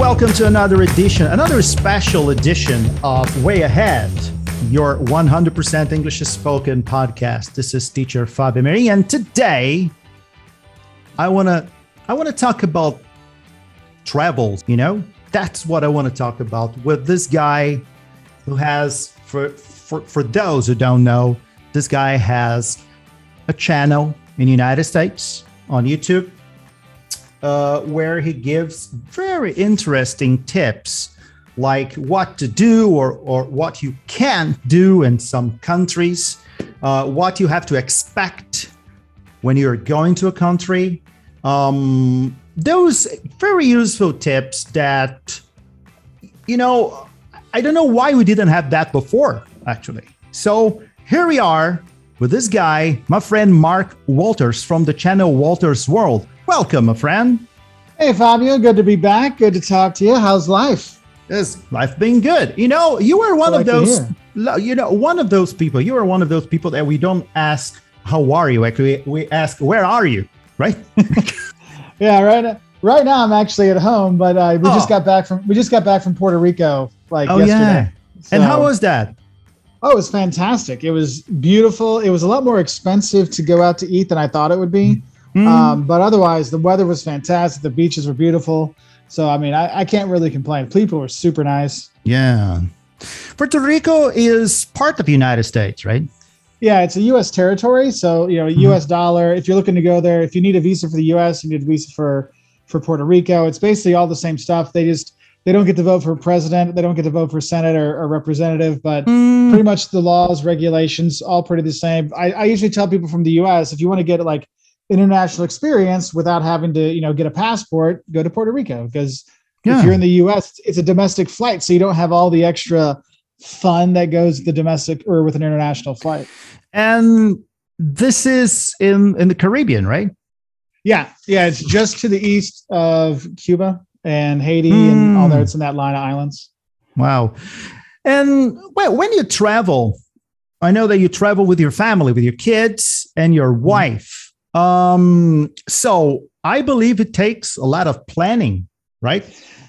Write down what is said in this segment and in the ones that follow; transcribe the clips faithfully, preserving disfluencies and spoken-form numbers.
welcome to another edition, another special edition of Way Ahead, your one hundred percent English spoken podcast. This is teacher Fabio Meri, and today I want to I want to talk about travels, you know? That's what I want to talk about with this guy who has, for, for, for those who don't know, this guy has a channel in the United States on YouTube uh, where he gives very interesting tips like what to do or, or what you can't do in some countries, uh, what you have to expect when you're going to a country. Um, those very useful tips that, you know, I don't know why we didn't have that before, actually. So here we are with this guy, my friend Mark Walters from the channel Walters World. Welcome, my friend. Hey, Fabio. Good to be back. Good to talk to you. How's life? Yes, life been good. You know, you are one I of like to those, hear. you know, one of those people. You are one of those people that we don't ask, how are you? Actually, we ask, where are you? Right? Yeah, right. Right now I'm actually at home, but uh, we Oh. just got back from we just got back from Puerto Rico like Oh, yesterday. yeah. And So- how was that? Oh, it was fantastic. It was beautiful. It was a lot more expensive to go out to eat than I thought it would be. Mm. Um, but otherwise, the weather was fantastic. The beaches were beautiful. So, I mean, I, I can't really complain. People were super nice. Yeah. Puerto Rico is part of the United States, right? Yeah, it's a U S territory. So, you know, Mhm. U S dollar. If you're looking to go there, if you need a visa for the U S, you need a visa for, for Puerto Rico. It's basically all the same stuff. They just, they don't get to vote for president. They don't get to vote for Senate or, or representative, but Mm. pretty much the laws, regulations, all pretty the same. I, I usually tell people from the U S, if you want to get like international experience without having to, you know, get a passport, go to Puerto Rico. Because Yeah. if you're in the U S, it's a domestic flight. So you don't have all the extra fun that goes with the domestic or with an international flight. And this is in, in the Caribbean, right? Yeah. Yeah. It's just to the east of Cuba and Haiti and all Mm. there. It's in that line of islands. Wow. And well, when you travel, I know that you travel with your family, with your kids and your wife. Um, so I believe it takes a lot of planning, right?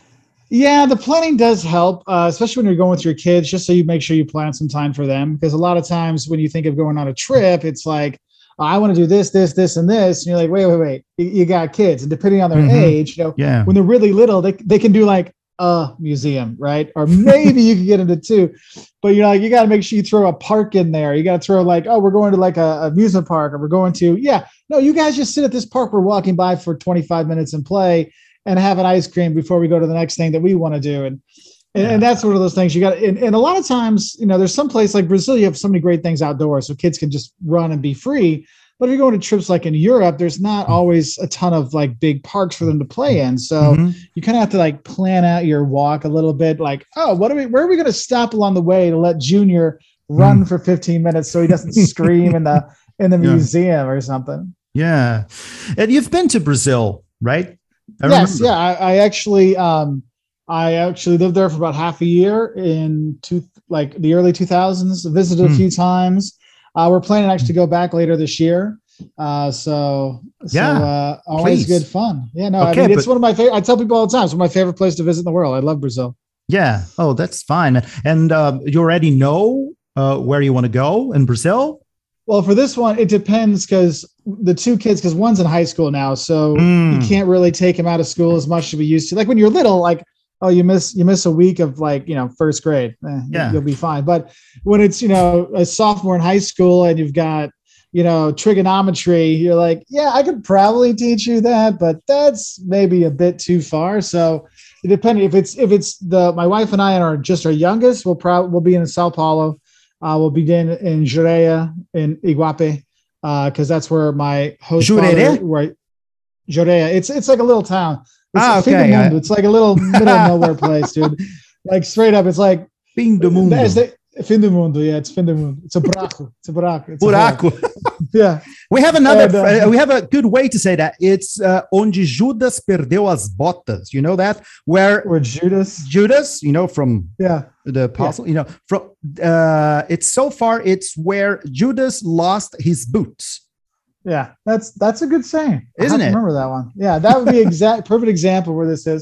Yeah, the planning does help, uh, especially when you're going with your kids, just so you make sure you plan some time for them. Because a lot of times when you think of going on a trip, it's like, oh, I want to do this, this, this, and this. And you're like, wait, wait, wait. You, you got kids. And depending on their Mhm. age, you know, Yeah. when they're really little, they, they can do like a museum, right? Or maybe you can get into two. But you're like, you got to make sure you throw a park in there. You got to throw like, oh, we're going to like a amusement park, or we're going to, yeah. No, you guys just sit at this park we're walking by for twenty-five minutes and play and have an ice cream before we go to the next thing that we want to do. And, and, Yeah. and that's one of those things you got. And, and a lot of times, you know, there's some place like Brazil, you have so many great things outdoors, so kids can just run and be free. But if you're going to trips like in Europe, there's not always a ton of like big parks for them to play in. So Mhm. you kind of have to like plan out your walk a little bit. Like, oh, what are we, where are we going to stop along the way to let Junior run Mm. for fifteen minutes so he doesn't scream in the, in the Yeah. museum or something? Yeah. And you've been to Brazil, right? I Yes, remember. yeah. I, I actually, um, I actually lived there for about half a year in two, like the early two thousands. Visited a Hmm. few times. Uh, we're planning actually to go back later this year. Uh, so, so Yeah, uh, always please. good fun. Yeah, no, Okay, I mean, it's but- one of my favorite. I tell people all the time, it's one of my favorite places to visit in the world. I love Brazil. Yeah. Oh, that's fine. And um, you already know uh, where you want to go in Brazil? Well, for this one, it depends because the two kids, because one's in high school now, so Mm. you can't really take him out of school as much as we used to. Like when you're little, like, oh, you miss you miss a week of like, you know, first grade, eh, Yeah. you'll be fine. But when it's, you know, a sophomore in high school and you've got, you know, trigonometry, you're like, yeah, I could probably teach you that, but that's maybe a bit too far. So depending if it's if it's the my wife and I and our just our youngest, we'll probably we'll be in Sao Paulo. Uh, we'll begin in Jureia in Iguape, because that's where my host Jureia? father, where Jureia. It's it's like a little town. It's Ah, a Fim do okay. Mundo. It's like a little middle of nowhere place, dude. Like straight up, it's like Fim do mundo. As they, Fim do Mundo. Yeah, it's Fim do Mundo. It's a buraco. It's a buraco. It's a hole. Buraco. Yeah. We have another. And, uh, uh, we have a good way to say that. It's uh, onde Judas perdeu as botas. You know that where Or Judas. Judas, you know, from Yeah. the apostle, you know, from uh, it's so far. It's where Judas lost his boots. Yeah. That's that's a good saying. I Isn't have to it? Remember that one. Yeah, that would be exact perfect example where this is.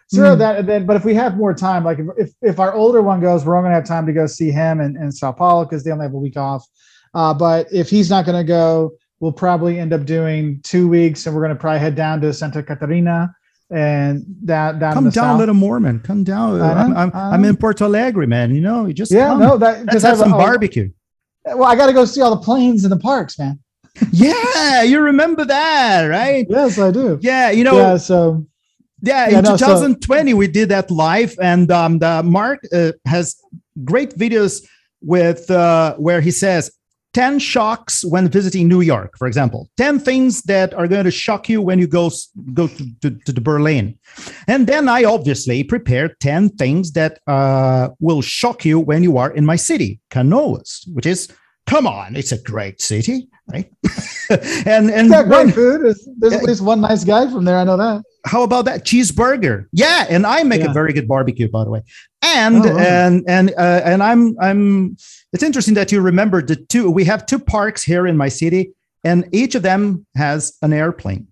So Mm. that, and then, but if we have more time, like if if, if our older one goes, we're only gonna have time to go see him in, in Sao Paulo because they only have a week off. Uh, but if he's not gonna go, we'll probably end up doing two weeks, and we're gonna probably head down to Santa Catarina and down down. Come in the down, south. little Mormon. Come down. I know, I'm, I'm, I I'm know. in Porto Alegre, man. You know, you just Yeah, come. no, that Let's I have some oh, barbecue. Well, I got to go see all the planes in the parks, man. Yeah, you remember that, right? Yes, I do. Yeah, you know. Yeah, so Yeah, Yeah, in no, so- twenty twenty we did that live, and um, the Mark uh, has great videos with uh, where he says ten shocks when visiting New York, for example, ten things that are going to shock you when you go s- go to, to, to the Berlin, and then I obviously prepared ten things that uh, will shock you when you are in my city, Canoas, which is come on, it's a great city, right? and and it's got one- great food. There's, there's at least one nice guy from there. I know that. how about that cheeseburger? Yeah, and I make Yeah. a very good barbecue, by the way. And Oh, wow. and and uh, and I'm I'm. It's interesting that you remember the two. We have two parks here in my city, and each of them has an airplane.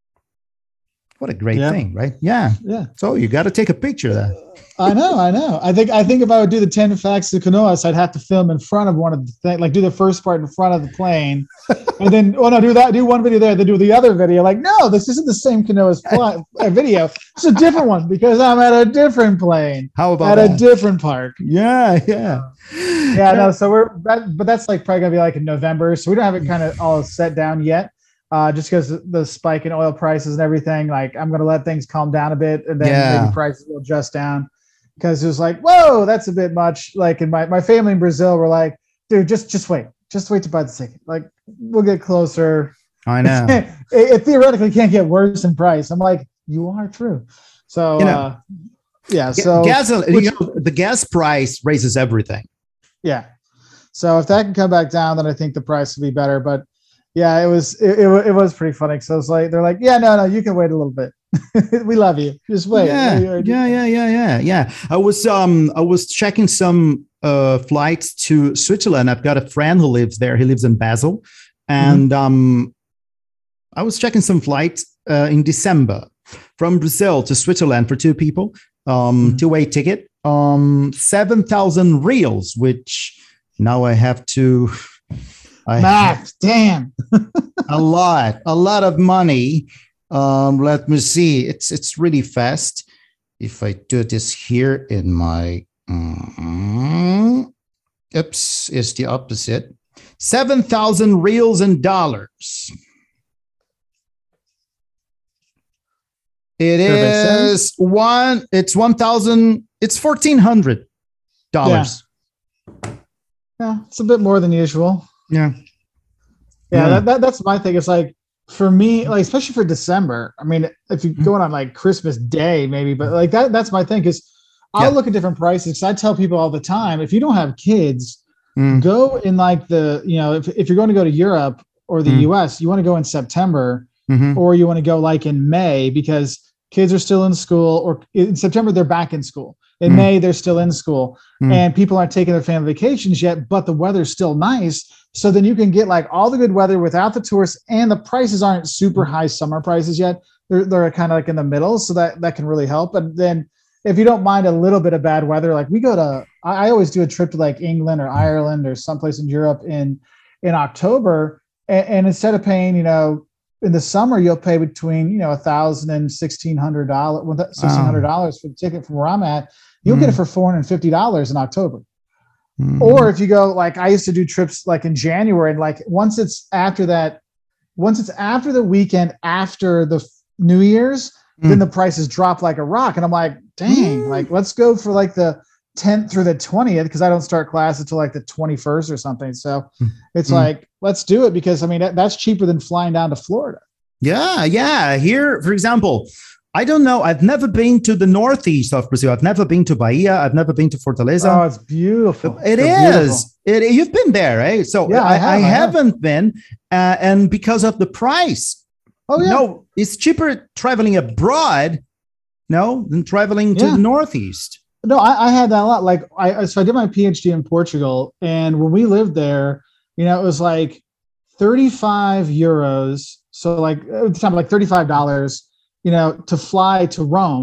What a great Yeah. thing, right? Yeah. Yeah, So you got to take a picture of that. I know, I know. I think I think if I would do the ten facts of Canoas, I'd have to film in front of one of the things, like do the first part in front of the plane, and then oh no, do that, do one video there, then do the other video. Like, no, this isn't the same Canoas pl- uh, video. It's a different one because I'm at a different plane How about at that? a different park. yeah, yeah, Yeah, no. So we're that, but that's like probably gonna be like in November. So we don't have it kind of all set down yet. Uh, just because the spike in oil prices and everything, like I'm gonna let things calm down a bit, and then Yeah. maybe prices will adjust down. Because it was like, whoa, that's a bit much. Like in my my family in Brazil, were like, dude, just just wait, just wait to buy the ticket. Like we'll get closer. I know. it, it theoretically can't get worse in price. I'm like, you are true. So You know, uh, yeah, Ga- so gas, which- you know, the gas price raises everything. yeah. So if that can come back down, then I think the price will be better. But yeah, it was it, it, wa- it was pretty funny. So it's like they're like, yeah, no, no, you can wait a little bit. We love you. Just wait. Yeah, Yeah, yeah, yeah, yeah, yeah, yeah. I was um I was checking some uh flights to Switzerland. I've got a friend who lives there. He lives in Basel, and um I was checking some flights uh, in December from Brazil to Switzerland for two people, um Mhm. two-way ticket, um seven thousand reals, which now I have to. I Max, damn. a lot, a lot of money. Um, let me see. It's it's really fast. If I do this here in my, mm, oops, is the opposite. Seven thousand reals in dollars. It Sure makes is one. It's one thousand. It's fourteen hundred dollars. Yeah, it's a bit more than usual. Yeah. Yeah, Yeah. That, that that's my thing. It's like for me, like especially for December. I mean, if you're going on like Christmas Day, maybe, but like that that's my thing because I'll Yeah. look at different prices. Because I tell people all the time, if you don't have kids, Mm. go in like the you know if if you're going to go to Europe or the Mm. U S, you want to go in September Mhm. or you want to go like in May because kids are still in school, or in September they're back in school. In Mm. May they're still in school, Mm. and people aren't taking their family vacations yet, but the weather's still nice. So then you can get like all the good weather without the tourists, and the prices aren't super high summer prices yet. They're they're kind of like in the middle, so that that can really help. And then if you don't mind a little bit of bad weather, like we go to, I, I always do a trip to like England or Ireland or someplace in Europe in in October, and, and instead of paying, you know, in the summer you'll pay between you know a thousand and sixteen hundred dollars, sixteen hundred dollars for the ticket from where I'm at. You'll get it for four hundred and fifty dollars in October. Mm. Or if you go, like I used to do trips like in January, and like once it's after that, once it's after the weekend after the f- New Year's, Mm. then the prices drop like a rock. And I'm like, dang, Mm. like let's go for like the tenth through the twentieth because I don't start class until like the twenty-first or something. So Mm. it's Mm. like, let's do it because I mean, that, that's cheaper than flying down to Florida. Yeah, yeah. Here, for example, I don't know. I've never been to the northeast of Brazil. I've never been to Bahia. I've never been to Oh, Fortaleza. it's beautiful. It They're is. It, you've been there, right? So Yeah, I I, have, I, I have. haven't been, uh, and because of the price. Oh, yeah. No, it's cheaper traveling abroad, no, than traveling to Yeah. the northeast. No, I, I had that a lot. Like I, I- so I did my PhD in Portugal, and when we lived there, you know, it was like thirty-five euros. So like at the time, like thirty-five dollars, you know, to fly to Rome,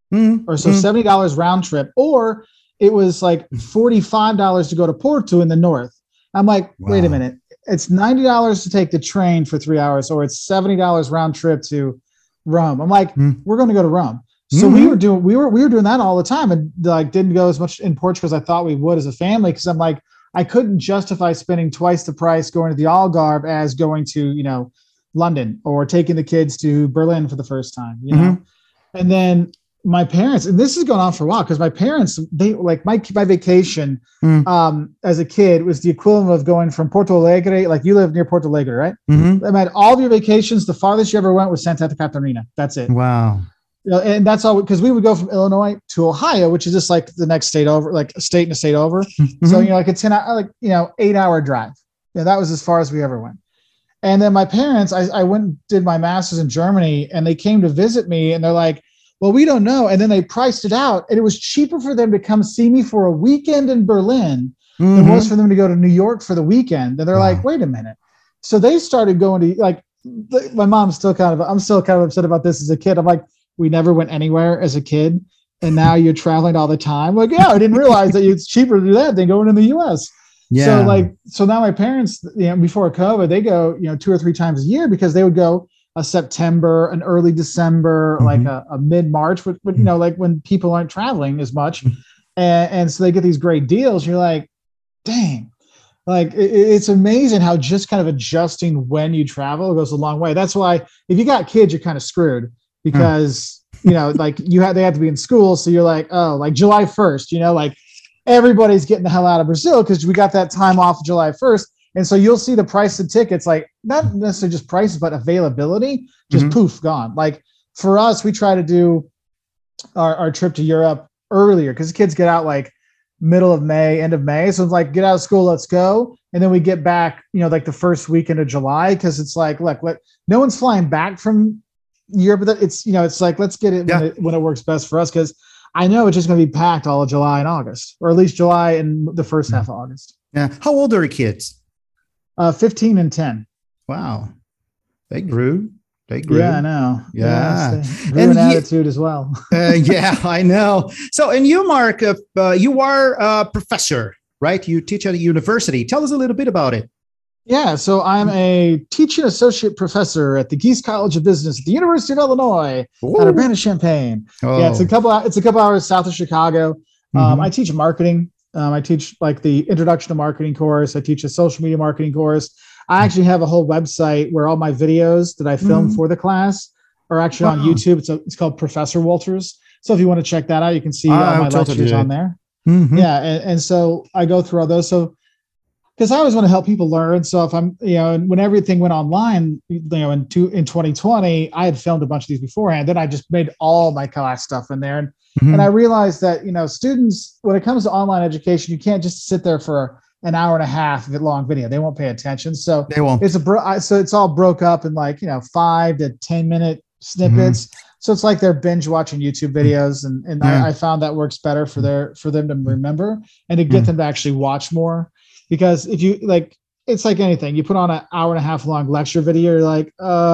Mm-hmm. or so Mm-hmm. seventy dollars round trip, or it was like forty-five dollars to go to Porto in the north. I'm like, Wow. wait a minute. It's ninety dollars to take the train for three hours, or it's seventy dollars round trip to Rome. I'm like, Mm-hmm. we're going to go to Rome. So Mm-hmm. we were doing, we were, we were doing that all the time, and like didn't go as much in Portugal as I thought we would as a family. Cause I'm like, I couldn't justify spending twice the price going to the Algarve as going to, you know, London or taking the kids to Berlin for the first time, you know? Mm-hmm. And then my parents, and this has gone on for a while, because my parents, they like my, my vacation Mm-hmm. um, as a kid was the equivalent of going from Porto Alegre. Like you live near Porto Alegre, right? Mm-hmm. I mean, all of your vacations, the farthest you ever went was Santa Catarina. That's it. Wow. You know, and that's all, because we would go from Illinois to Ohio, which is just like the next state over, like a state and a state over. Mm-hmm. So, you know, like a ten, like, you know, eight hour drive. Yeah, that was as far as we ever went. And then my parents, I, I went and did my master's in Germany, and they came to visit me, and they're like, well, we don't know. And then they priced it out, and it was cheaper for them to come see me for a weekend in Berlin Mm-hmm. than it was for them to go to New York for the weekend. And they're Wow. like, wait a minute. So they started going to, like, my mom's still kind of, I'm still kind of upset about this as a kid. I'm like, we never went anywhere as a kid, and now you're traveling all the time. Like, yeah, I didn't realize that it's cheaper to do that than going in the U S. Yeah. So like, so now my parents, you know, before COVID, they go, you know, two or three times a year, because they would go a September, an early December, Mm-hmm. like a, a mid-March, but, but, you know, like when people aren't traveling as much. And, and so they get these great deals. You're like, dang, like it, it's amazing how just kind of adjusting when you travel goes a long way. That's why if you got kids, you're kind of screwed, because, you know, like you had, they had to be in school. So you're like, oh, like July first, you know, like everybody's getting the hell out of Brazil because we got that time off July first. And so you'll see the price of tickets, like not necessarily just prices, but availability, just Mhm. poof, gone. Like for us, we try to do our, our trip to Europe earlier because the kids get out like middle of May, end of May. So it's like, get out of school, let's go. And then we get back, you know, like the first weekend of July, because it's like, look, let, no one's flying back from Europe, but it's, you know, it's like, let's get it, Yeah. when, it when it works best for us, because I know it's just going to be packed all of July and August, or at least July and the first half of August. Yeah. How old are your kids? Uh, fifteen and ten. Wow. They grew. They grew. Yeah, I know. Yeah. Yes, they grew And in ye- attitude as well. uh, yeah, I know. So, and you, Mark, uh, uh, you are a professor, right? You teach at a university. Tell us a little bit about it. Yeah, so I'm a teaching associate professor at the Geese College of Business at the University of Illinois at Urbana-Champaign. Oh. Yeah, it's a couple. It's a couple hours south of Chicago. Um, Mhm. I teach marketing. Um, I teach like the introduction to marketing course. I teach a social media marketing course. I actually have a whole website where all my videos that I filmed Mhm. for the class are actually on Wow. YouTube. It's a, it's called Professor Walters. So if you want to check that out, you can see I all my will totally lectures do on it. there. Mhm. Yeah, and, and so I go through all those. So because I always want to help people learn. So if I'm, you know, and when everything went online, you know, in two in twenty twenty, I had filmed a bunch of these beforehand. Then I just made all my class stuff in there, and Mhm. and I realized that, you know, students, when it comes to online education, you can't just sit there for an hour and a half of a long video. They won't pay attention. So They won't. it's a bro- I- so it's all broke up in like, you know, five to ten minute snippets. So it's like they're binge watching YouTube videos, and and Yeah. I, I found that works better for their for them to remember and to get Mm. them to actually watch more. Because if you like, it's like anything. You put on an hour and a half long lecture video, you're like,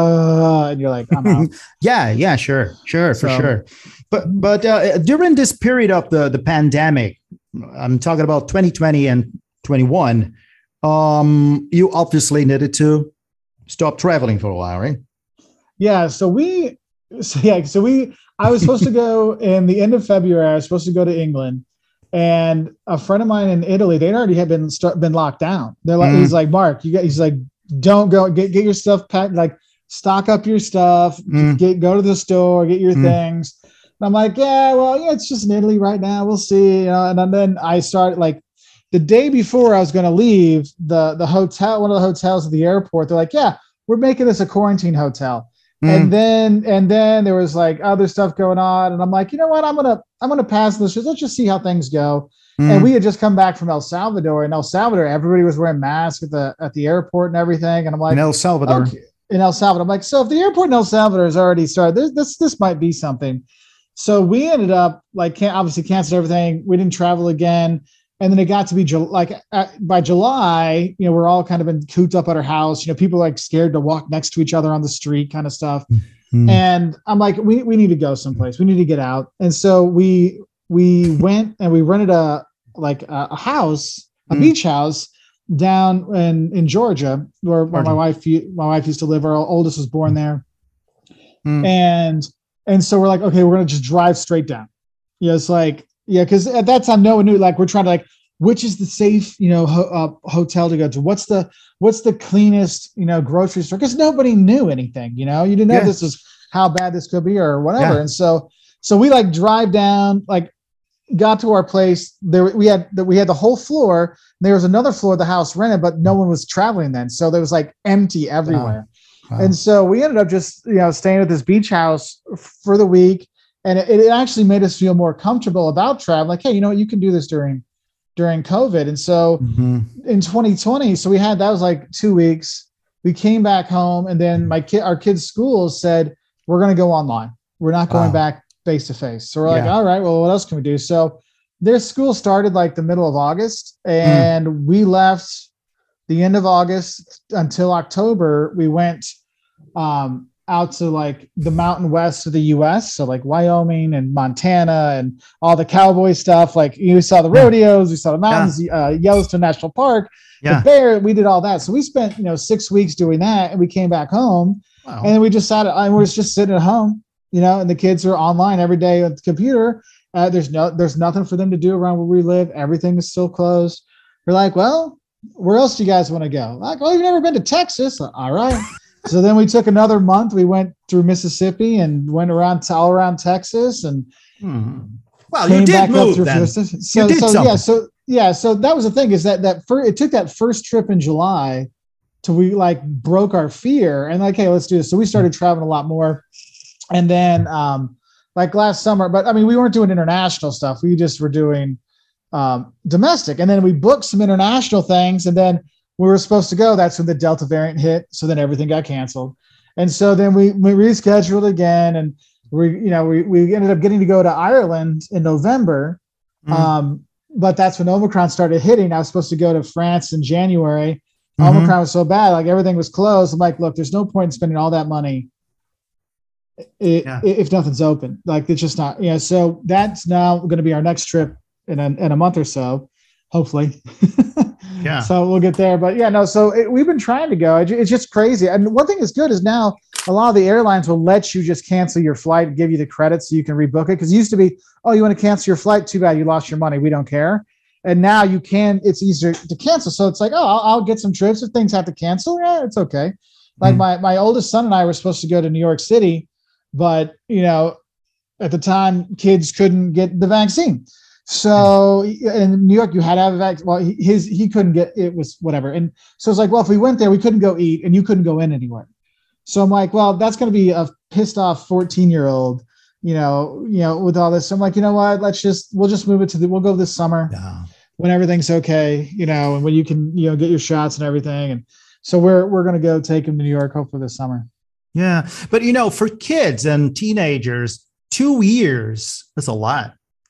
uh, and you're like, I'm out. Yeah, yeah, sure, sure, for So- sure. But but uh, during this period of the the pandemic, I'm talking about twenty twenty and twenty-one. Um, you obviously needed to stop traveling for a while, right? Yeah. So we, so yeah. So we, I was supposed to go in the end of February. I was supposed to go to England, and a friend of mine in Italy, they'd already had been start, been locked down. They're like, Mm. he's like, Mark, you got. He's like, don't go. Get get your stuff packed. Like, stock up your stuff. Mm. Get go to the store. Get your Mm. things. And I'm like, yeah, well, yeah, it's just in Italy right now. We'll see. You know, and then I started like. The day before I was going to leave, the the hotel, one of the hotels at the airport, they're like, yeah, we're making this a quarantine hotel. Mm. And then and then there was like other stuff going on. And I'm like, you know what? I'm gonna I'm gonna pass this. Let's just see how things go. Mm. And we had just come back from El Salvador. In El Salvador, everybody was wearing masks at the at the airport and everything. And I'm like, in El Salvador. okay. In El Salvador. I'm like, so if the airport in El Salvador has already started, this this this might be something. So we ended up like can obviously canceled everything. We didn't travel again. And then it got to be Ju- like uh, by July, you know, we're all kind of been cooped up at our house. You know, people are like scared to walk next to each other on the street, kind of stuff. Mm. And I'm like, we, we need to go someplace. We need to get out. And so we, we went and we rented a, like a, a house, a mm. beach house down in, in Georgia, where, where my wife, my wife used to live. Our oldest was born there. Mm. And, and so we're like, okay, we're going to just drive straight down. Yeah. It's like, yeah. Cause at that time, no one knew, like, we're trying to like, which is the safe, you know, ho- uh, hotel to go to? What's the, what's the cleanest, you know, grocery store? Cause nobody knew anything, you know, you didn't know yeah. this is how bad this could be or whatever. Yeah. And so, so we like drive down, like got to our place there. We had the, we had the whole floor. There was another floor of the house rented, but no one was traveling then. So there was like empty everywhere. Wow. Wow. And so we ended up just, you know, staying at this beach house for the week. And it, it actually made us feel more comfortable about travel. Like, hey, you know what, you can do this during during COVID. And so mm-hmm. in twenty twenty, so we had, that was like two weeks. We came back home and then my kid, our kids' schools said, we're going to go online. We're not going wow. back face to face. So we're yeah. like, all right, well, what else can we do? So their school started like the middle of August and mm. we left the end of August until October. We went um, out to like the mountain west of the U S. So like Wyoming and Montana and all the cowboy stuff. Like you saw the rodeos, we saw the mountains, yeah. uh, Yellowstone National Park, yeah. the bear, we did all that. So we spent, you know, six weeks doing that and we came back home wow. and we decided I was just sitting at home, you know, and the kids are online every day on the computer. Uh, there's no, there's nothing for them to do around where we live. Everything is still closed. We're like, well, where else do you guys want to go? Like, oh, you've never been to Texas. All right. So then we took another month. We went through Mississippi and went around to, all around Texas and hmm. Well, you did move then. So, you did so something. yeah, so yeah, so that was the thing is that that first, it took that first trip in July till we like broke our fear and like, hey, let's do this. So we started traveling a lot more, and then um, like last summer. But I mean, we weren't doing international stuff. We just were doing um, domestic, and then we booked some international things, and then we were supposed to go. That's when the Delta variant hit. So then everything got canceled. And so then we, we rescheduled again. And we, you know, we, we ended up getting to go to Ireland in November. Mm. Um, but that's when Omicron started hitting. I was supposed to go to France in January. Mm-hmm. Omicron was so bad. Like everything was closed. I'm like, look, there's no point in spending all that money it, yeah. if nothing's open. Like it's just not, you know, so that's now going to be our next trip in a, in a month or so, hopefully. Yeah. So we'll get there, but yeah, no. So it, we've been trying to go. It, it's just crazy. And one thing that's good is now a lot of the airlines will let you just cancel your flight and give you the credit so you can rebook it. Because it used to be, oh, you want to cancel your flight? Too bad, you lost your money. We don't care. And now you can. It's easier to cancel. So it's like, oh, I'll, I'll get some trips if things have to cancel. Yeah, it's okay. Like mm-hmm. my my oldest son and I were supposed to go to New York City, but you know, at the time, kids couldn't get the vaccine. So in New York, you had to have a vaccine. Well, his he couldn't get it was whatever, and so it's like, well, if we went there, we couldn't go eat, and you couldn't go in anywhere. So I'm like, well, that's going to be a pissed off fourteen year old, you know, you know, with all this. So I'm like, you know what? Let's just we'll just move it to the we'll go this summer yeah. when everything's okay, you know, and when you can you know get your shots and everything. And so we're we're going to go take him to New York hopefully this summer. Yeah, but you know, for kids and teenagers, two years that's a lot.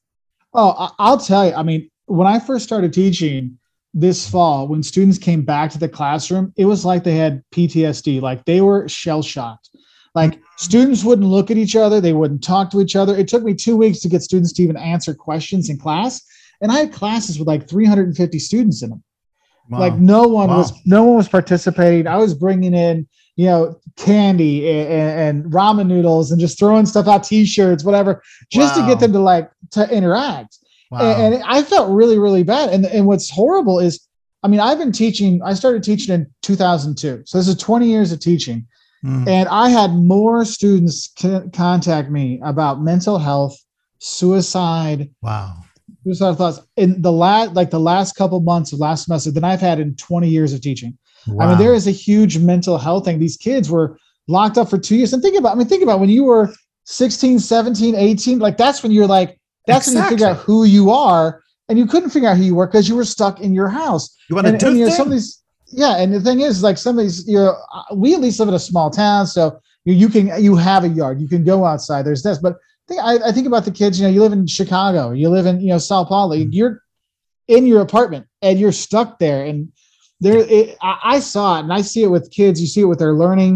Oh, I'll tell you. I mean, when I first started teaching this fall, when students came back to the classroom, it was like they had P T S D. Like they were shell shocked. Like students wouldn't look at each other. They wouldn't talk to each other. It took me two weeks to get students to even answer questions in class. And I had classes with like three hundred fifty students in them. Wow. Like no one wow. was, no one was participating. I was bringing in, you know, candy and, and ramen noodles and just throwing stuff out, t-shirts, whatever, just wow. to get them to like, to interact. Wow. And, and I felt really, really bad. And, and what's horrible is, I mean, I've been teaching, I started teaching in two thousand two. So this is twenty years of teaching. Mm. And I had more students c- contact me about mental health, suicide. Wow. Suicidal thoughts in the last, like the last couple months of last semester than I've had in twenty years of teaching. Wow. I mean, there is a huge mental health thing. These kids were locked up for two years. And think about, I mean, think about when you were sixteen, seventeen, eighteen, like that's when you're like, that's exactly. when you figure out who you are. And you couldn't figure out who you were because you were stuck in your house. You want to do and, you know, thing? some of these, yeah. And the thing is, like some of these, you know, we at least live in a small town. So you, you can, you have a yard, you can go outside. There's this, but think, I, I think about the kids, you know, you live in Chicago, you live in, you know, Sao Paulo, mm-hmm. you're in your apartment and you're stuck there. And there, it, I, I saw it and I see it with kids. You see it with their learning.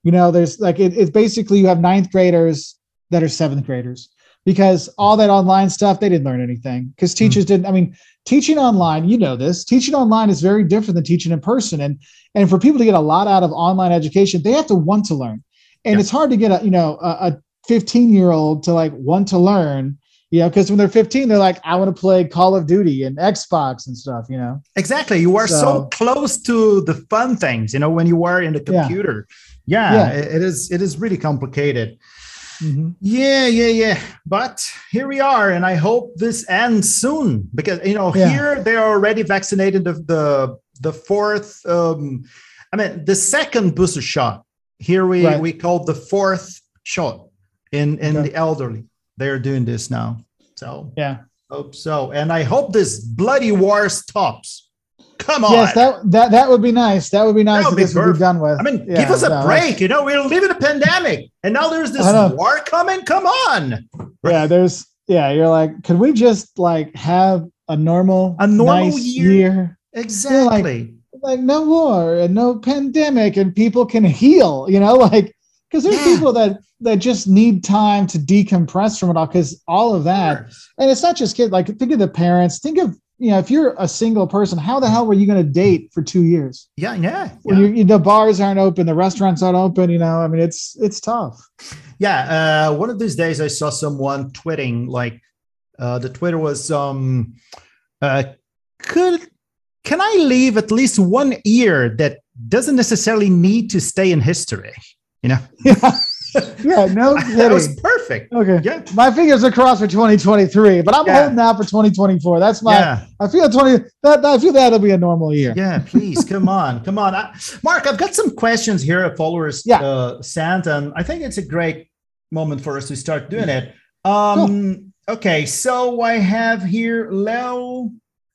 You know, there's like it, it's basically you have ninth graders that are seventh graders because all that online stuff, they didn't learn anything because teachers mm. didn't. I mean, teaching online, you know this, teaching online is very different than teaching in person. And and for people to get a lot out of online education, they have to want to learn. And yeah. it's hard to get a, you know, a fifteen year old to like want to learn, you know, because when they're fifteen, they're like, I want to play Call of Duty and Xbox and stuff, you know? Exactly. You are so, so close to the fun things, you know, when you are in the computer. Yeah, yeah, yeah. It, it is. It is really complicated. Mm-hmm. Yeah, yeah, yeah. But here we are. And I hope this ends soon because, you know, yeah. here they are already vaccinated the, the, the fourth, um, I mean, the second booster shot. Here we, right. we call the fourth shot in, in okay. the elderly. They're doing this now. So yeah, hope so. And I hope this bloody war stops. Come on. Yes, that that that would be nice. That would be nice if this would be done with. I mean, yeah, give us a no, break. You know, we're living a pandemic. And now there's this war coming. Come on. Yeah, there's yeah, you're like, can we just like have a normal a normal nice year? year? Exactly. Like, like no war and no pandemic and people can heal, you know, like because there's yeah. people that that just need time to decompress from it all because all of that. Of and it's not just kids. Like think of the parents. Think of, you know, if you're a single person, how the hell were you going to date for two years? Yeah, yeah. When yeah. you, the bars aren't open, the restaurants aren't open. You know, I mean, it's it's tough. Yeah. Uh, one of these days, I saw someone tweeting like, uh, the Twitter was, um, uh, could can I leave at least one year that doesn't necessarily need to stay in history? You know. Yeah. Yeah, no kidding. That was perfect. Okay. Yeah. My fingers are crossed for twenty twenty-three, but I'm yeah. holding out for twenty twenty-four. That's my yeah. I feel twenty that I feel that'll be a normal year. Yeah, please. Come on. Come on. I, Mark, I've got some questions here at followers yeah. uh, sent, and I think it's a great moment for us to start doing it. Um cool. Okay, so I have here Leo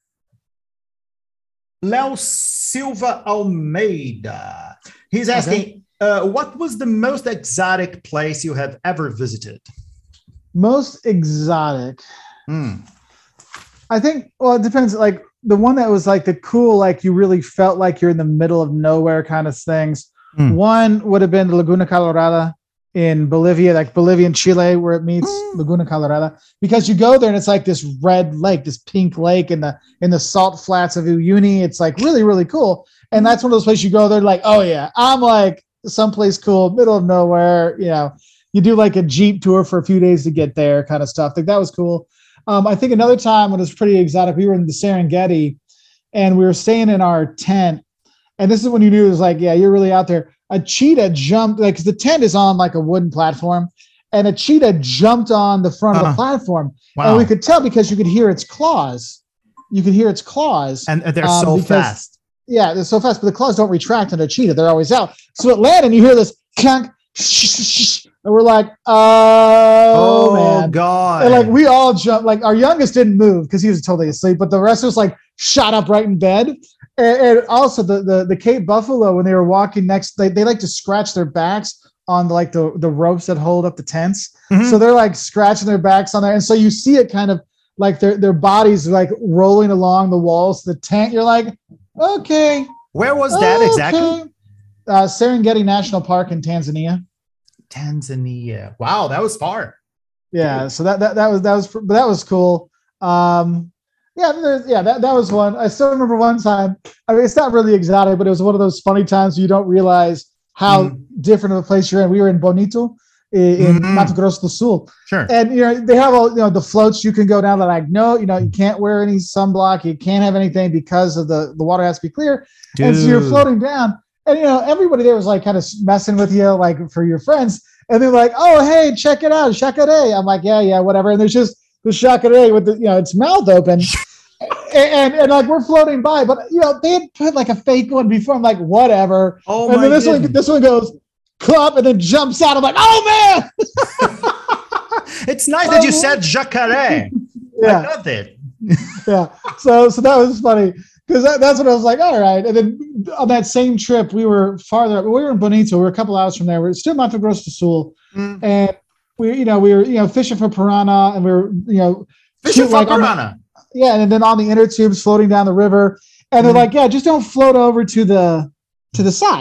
Leo Silva Almeida. He's asking okay. Uh, what was the most exotic place you have ever visited? Most exotic? Mm. I think, well, it depends. Like the one that was like the cool, like you really felt like you're in the middle of nowhere kind of things. Mm. One would have been the Laguna Colorada in Bolivia, like Bolivia and Chile, where it meets mm. Laguna Colorada, because you go there and it's like this red lake, this pink lake in the in the salt flats of Uyuni. It's like really, really cool. And that's one of those places you go there like, oh yeah, I'm like, someplace cool, middle of nowhere, you know, you do like a Jeep tour for a few days to get there kind of stuff. Like that was cool. Um, I think another time when it was pretty exotic, we were in the Serengeti and we were staying in our tent. And this is when you knew it was like, yeah, you're really out there. A cheetah jumped, like, cause the tent is on like a wooden platform and a cheetah jumped on the front uh-huh. of the platform. Wow. And we could tell because you could hear its claws. You could hear its claws. And they're um, so because, fast. Yeah, they're so fast, but the claws don't retract on a cheetah. They're always out. So it landed and you hear this clunk, and we're like, oh, oh man. God. And like we all jumped, like our youngest didn't move because he was totally asleep, but the rest of us like shot up right in bed. And, and also the, the the Cape Buffalo, when they were walking next, they, they like to scratch their backs on like the, the ropes that hold up the tents. Mm-hmm. So they're like scratching their backs on there. And so you see it kind of like their, their bodies like rolling along the walls of the tent. You're like, okay. Where was that okay. exactly? Uh, Serengeti National Park in Tanzania. Tanzania. Wow, that was far. Yeah, so that that that was that was but that was cool. Um, yeah, there's, yeah, that, that was one. I still remember one time. I mean, it's not really exotic, but it was one of those funny times you don't realize how mm. different of a place you're in. We were in Bonito, in mm-hmm. Mato Grosso do Sul. Sure. And you know they have all you know the floats you can go down. That like no, you know you can't wear any sunblock. You can't have anything because of the the water has to be clear. Dude. And so you're floating down. And, you know, everybody there was like kind of messing with you, like for your friends. And they're like, oh, hey, check it out. Shakare. I'm like, yeah, yeah, whatever. And there's just the Shakare with the, you know, its mouth open. and, and, and like we're floating by. But, you know, they had put like a fake one before. I'm like, whatever. Oh, and my then this goodness. one, this one goes, clap, and then jumps out. I'm like, oh, man. It's nice that you said Jacare. Yeah. I love it. Yeah. So, so that was funny. Because that, that's what I was like, all right. And then on that same trip, we were farther. We were in Bonito. We were a couple hours from there. We are still Mato Grosso do Sul, mm. and we, you know, we were, you know, fishing for piranha, and we were, you know, fishing for like piranha. The, yeah, and then on the inner tubes floating down the river, and they're mm. like, yeah, just don't float over to the to the side.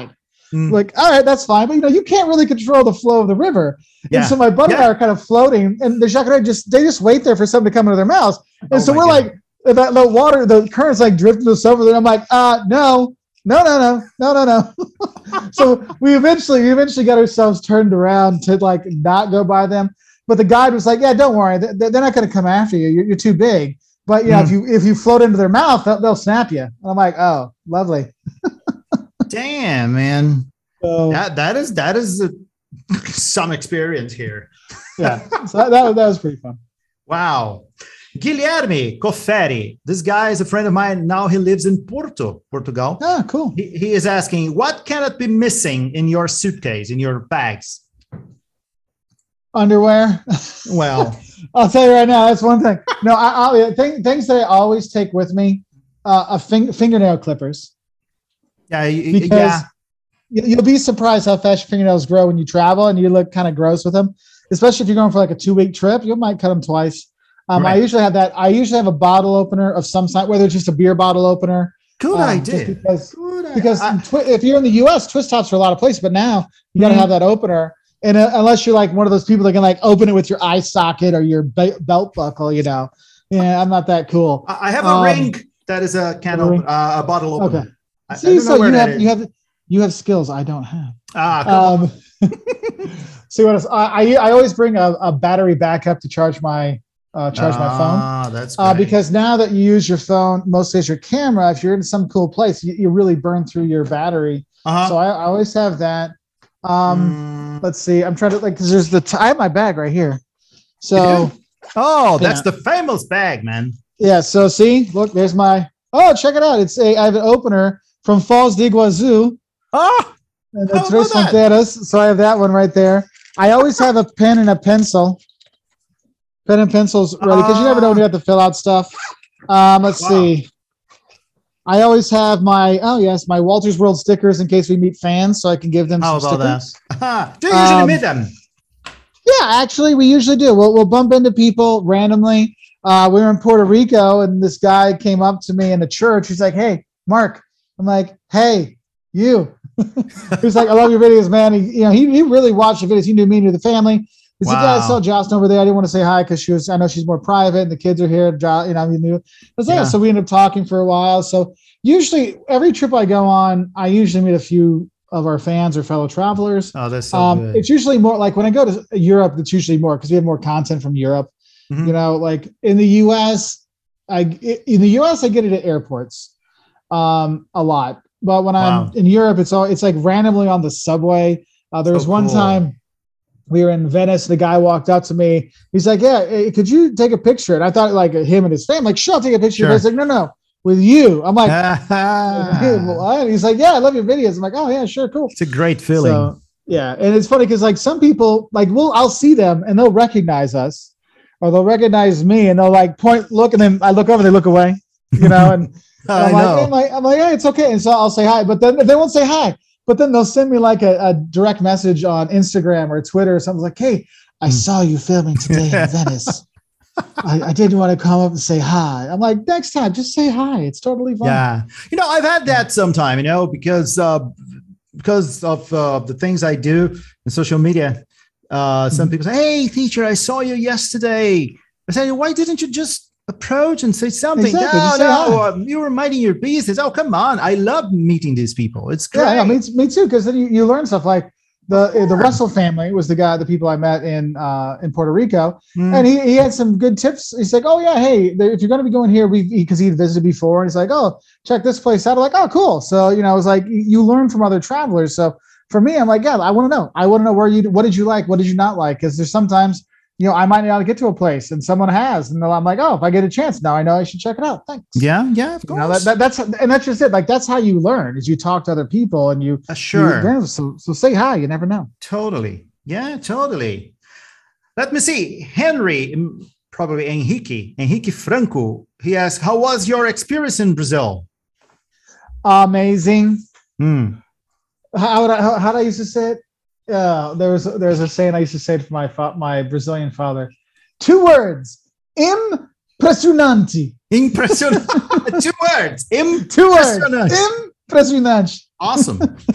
Mm. Like, all right, that's fine. But, you know, you can't really control the flow of the river. Yeah. And so my buddy yeah. and I are kind of floating, and the jacaré just, they just wait there for something to come into their mouths. And oh so we're God. like, that low water, the current's like drifting us over there. I'm like, uh, no, no, no, no, no, no, no. So we eventually, we eventually got ourselves turned around to like not go by them. But the guide was like, yeah, don't worry. They're not going to come after you. You're, you're too big. But yeah, mm. if you, if you float into their mouth, they'll, they'll snap you. And I'm like, oh, lovely. Damn, man. So, that, that is, that is a, some experience here. Yeah. So that, that, that was pretty fun. Wow. Guilherme Cofferi. This guy is a friend of mine. Now he lives in Porto, Portugal. Ah, cool. He, he is asking, what cannot be missing in your suitcase, in your bags? Underwear. Well, I'll tell you right now, that's one thing. No, I, I th- things that I always take with me, uh, a fing- fingernail clippers. Yeah, because yeah. You'll be surprised how fast your fingernails grow when you travel, and you look kind of gross with them. Especially if you're going for like a two-week trip, you might cut them twice. Um, right. I usually have that. I usually have a bottle opener of some sort, whether it's just a beer bottle opener. Good um, idea. Because, Good because I, twi- if you're in the U S, twist tops for a lot of places, but now you got to mm-hmm. have that opener. And uh, unless you're like one of those people that can like open it with your eye socket or your be- belt buckle, you know, yeah, I'm not that cool. I have a um, ring that is a can open, uh, a bottle opener. Okay. I, See, I so you have is. you have you have skills I don't have. Ah, um, see what else? I, I I always bring a, a battery backup to charge my uh, charge ah, my phone. Ah, that's uh, because now that you use your phone mostly as your camera, if you're in some cool place, you, you really burn through your battery. Uh-huh. So I, I always have that. Um, mm. Let's see. I'm trying to like because there's the t- I have my bag right here. So oh, that's yeah. the famous bag, man. Yeah. So see, look, there's my. Oh, check it out. It's a I have an opener from Foz do Iguaçu. Oh, and the Tres Fronteiras. So I have that one right there. I always have a pen and a pencil. Pen and pencils ready because uh, you never know when you have to fill out stuff. Um, let's wow. see. I always have my oh yes my Walter's World stickers in case we meet fans, so I can give them How some about stickers. That? Do you usually um, meet them? Yeah, actually, we usually do. We'll we'll bump into people randomly. Uh, we were in Puerto Rico, and this guy came up to me in the church. He's like, "Hey, Mark." I'm like, "Hey, you." He's like, "I love your videos, man." He, you know, he he really watched the videos. He knew me, knew the family. He's wow. like, "Yeah, I saw Jocelyn over there. I didn't want to say hi because she was. I know she's more private, and the kids are here. Jo- you know, you knew." I was like, yeah. So we ended up talking for a while. So usually, every trip I go on, I usually meet a few of our fans or fellow travelers. Oh, that's so um, good. It's usually more like when I go to Europe. It's usually more because we have more content from Europe. Mm-hmm. You know, like in the U S, I in the U S I get it at airports um, a lot. But when wow. I'm in Europe, it's all it's like randomly on the subway. Uh, there was so one cool. time we were in Venice. The guy walked up to me. He's like, "Yeah, hey, could you take a picture?" And I thought like him and his family. Like, sure, I'll take a picture. Sure. But I was like, "No, no, with you." I'm like, what? He's like, "Yeah, I love your videos." I'm like, "Oh yeah, sure, cool." It's a great feeling. So, yeah, and it's funny because like some people like we'll I'll see them and they'll recognize us, or they'll recognize me and they'll like point, look, and then I look over, they look away, you know, and. And I'm, like, hey, I'm like, I'm like, hey, it's okay. And so I'll say hi, but then they won't say hi, but then they'll send me like a, a direct message on Instagram or Twitter or something like, "Hey, I mm. saw you filming today in Venice. I, I didn't want to come up and say hi." I'm like, next time, just say hi. It's totally fine. Yeah. You know, I've had that sometime, you know, because, uh, because of uh, the things I do in social media. Uh, some mm-hmm. people say, "Hey, teacher, I saw you yesterday." I said, "Why didn't you just approach and say something?" Exactly. No, say no, um, you were minding your business. Oh, come on. I love meeting these people. It's great. Yeah, yeah me, me too. Because then you, you learn stuff like the the Russell family was the guy, the people I met in uh, in Puerto Rico. Mm. And he, he had some good tips. He's like, "Oh yeah, hey, if you're going to be going here, we because he visited before." And he's like, "Oh, check this place out." I'm like, "Oh, cool." So, you know, it was like you learn from other travelers. So for me, I'm like, yeah, I want to know. I want to know where you, what did you like? What did you not like? Because there's sometimes, you know, I might not get to a place and someone has, and I'm like, oh, if I get a chance now, I know I should check it out. Thanks. Yeah, yeah, of course. You know, that, that, that's and that's just it. Like that's how you learn is you talk to other people and you. Uh, sure. You learn, so so say hi. You never know. Totally. Yeah, totally. Let me see. Henry, probably Henrique, Henrique Franco. He asked, "How was your experience in Brazil?" Amazing. Hmm. How would I, how how I used to say it? Uh, there was there's a saying I used to say to my fa- my Brazilian father. Two words: impressionante. Impressionante. Two words. Two words. Impressionante. Awesome.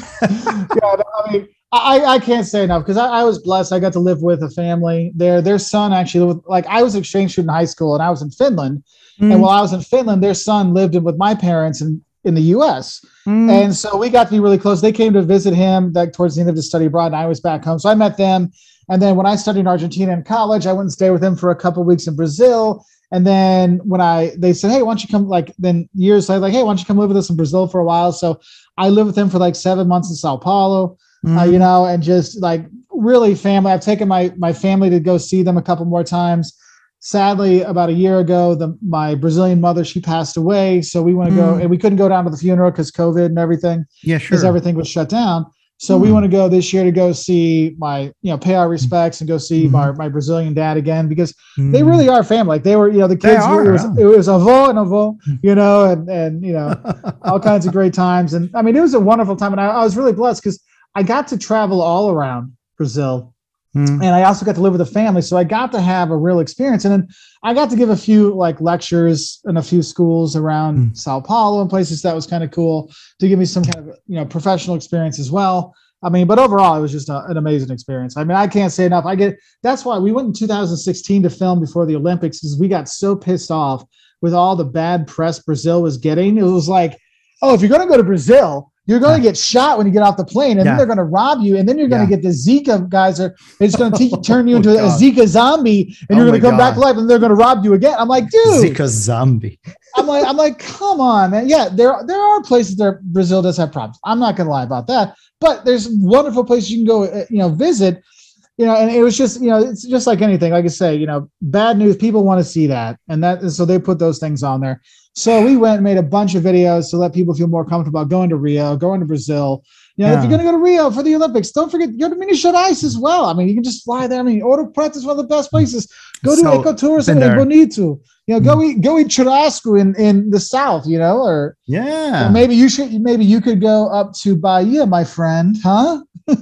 Yeah, I mean, I, I can't say enough because I, I was blessed. I got to live with a family there. Their son actually lived with, like I was an exchange student in high school and I was in Finland. Mm. And while I was in Finland, their son lived with my parents in, in the U S. Mm. And so we got to be really close. They came to visit him like towards the end of his study abroad and I was back home. So I met them. And then when I studied in Argentina in college, I went and stayed with them for a couple of weeks in Brazil. And then when I, they said, hey, why don't you come, like then years later, like, hey, why don't you come live with us in Brazil for a while? So I lived with them for like seven months in Sao Paulo, mm-hmm. uh, you know, and just like really family. I've taken my, my family to go see them a couple more times. Sadly, about a year ago, the, my Brazilian mother, she passed away. So we want to mm-hmm. go and we couldn't go down to the funeral because COVID and everything. Yeah, sure. Because everything was shut down. So mm. we want to go this year to go see my, you know, pay our respects and go see mm. my, my Brazilian dad again, because mm. they really are family. Like they were, you know, the kids, are, it was, yeah. it was avô and avô, you know, and, and, you know, all kinds of great times. And I mean, it was a wonderful time. And I, I was really blessed because I got to travel all around Brazil. Mm. And I also got to live with a family. So I got to have a real experience. And then I got to give a few like lectures in a few schools around mm. Sao Paulo and places that was kind of cool to give me some kind of, you know, professional experience as well. I mean, but overall, it was just a, an amazing experience. I mean, I can't say enough. I get, that's why we went in two thousand sixteen to film before the Olympics, because we got so pissed off with all the bad press Brazil was getting. It was like, oh, if you're going to go to Brazil, you're going to get shot when you get off the plane, and yeah. then they're going to rob you, and then you're going to yeah. get the Zika guys are it's going to te- turn you into oh, a Zika zombie, and oh you're going to come God. back alive, and they're going to rob you again. I'm like, dude, Zika zombie. I'm like, I'm like, come on, man. Yeah, there there are places there Brazil does have problems. I'm not going to lie about that, but there's wonderful places you can go, uh, you know, visit. You know, and it was just, you know, it's just like anything. Like I say, you know, bad news. People want to see that, and that, and so they put those things on there. So we went and made a bunch of videos to let people feel more comfortable about going to Rio, going to Brazil. You know, yeah. if you're going to go to Rio for the Olympics, don't forget go to Minas Gerais as well. I mean, you can just fly there. I mean, Ouro Preto is one of the best places. Go to so, Ecotourism in Bonito. You know, go mm. eat go eat churrasco in, in the south. You know, or yeah, or maybe you should maybe you could go up to Bahia, my friend, huh?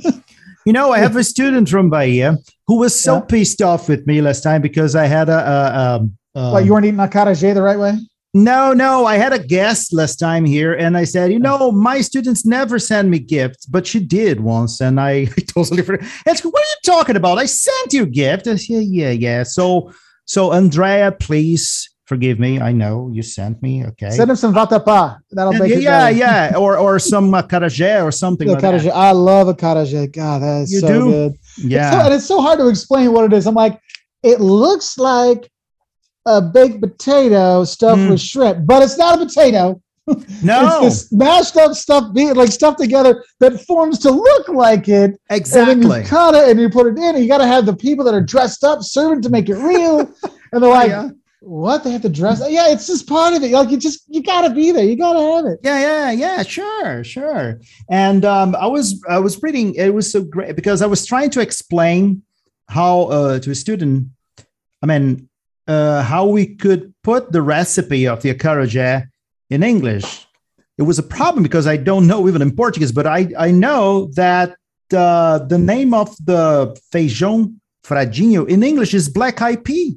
You know, I have a student from Bahia who was so yeah. pissed off with me last time because I had a. a, a, a what, you weren't eating acarajé the right way? No, no, I had a guest last time here, and I said, you know, my students never send me gifts, but she did once, and I, I totally forgot. What are you talking about? I sent you a gift. I said, yeah, yeah, yeah. So, so Andrea, please forgive me. I know you sent me. Okay, send him some vatapá. That'll and, make yeah, it yeah, yeah, or or some acarajé or something. Yeah, like acarajé. that. I love acarajé. God, that is you so do? good. Yeah, it's so, and it's so hard to explain what it is. I'm like, it looks like a baked potato stuffed mm. with shrimp, but it's not a potato. No, it's this mashed up stuff, like stuff together that forms to look like it. Exactly. And then you cut it and you put it in, and you got to have the people that are dressed up serving to make it real. And they're like, yeah. what? They have to dress? Yeah, it's just part of it. Like you just you got to be there. You got to have it. Yeah, yeah, yeah. Sure, sure. And um, I was I was reading. It was so great because I was trying to explain how uh, to a student. I mean. Uh, how we could put the recipe of the acarajé in English. It was a problem because I don't know even in Portuguese, but I, I know that uh, the name of the feijão fradinho in English is black eyed pea.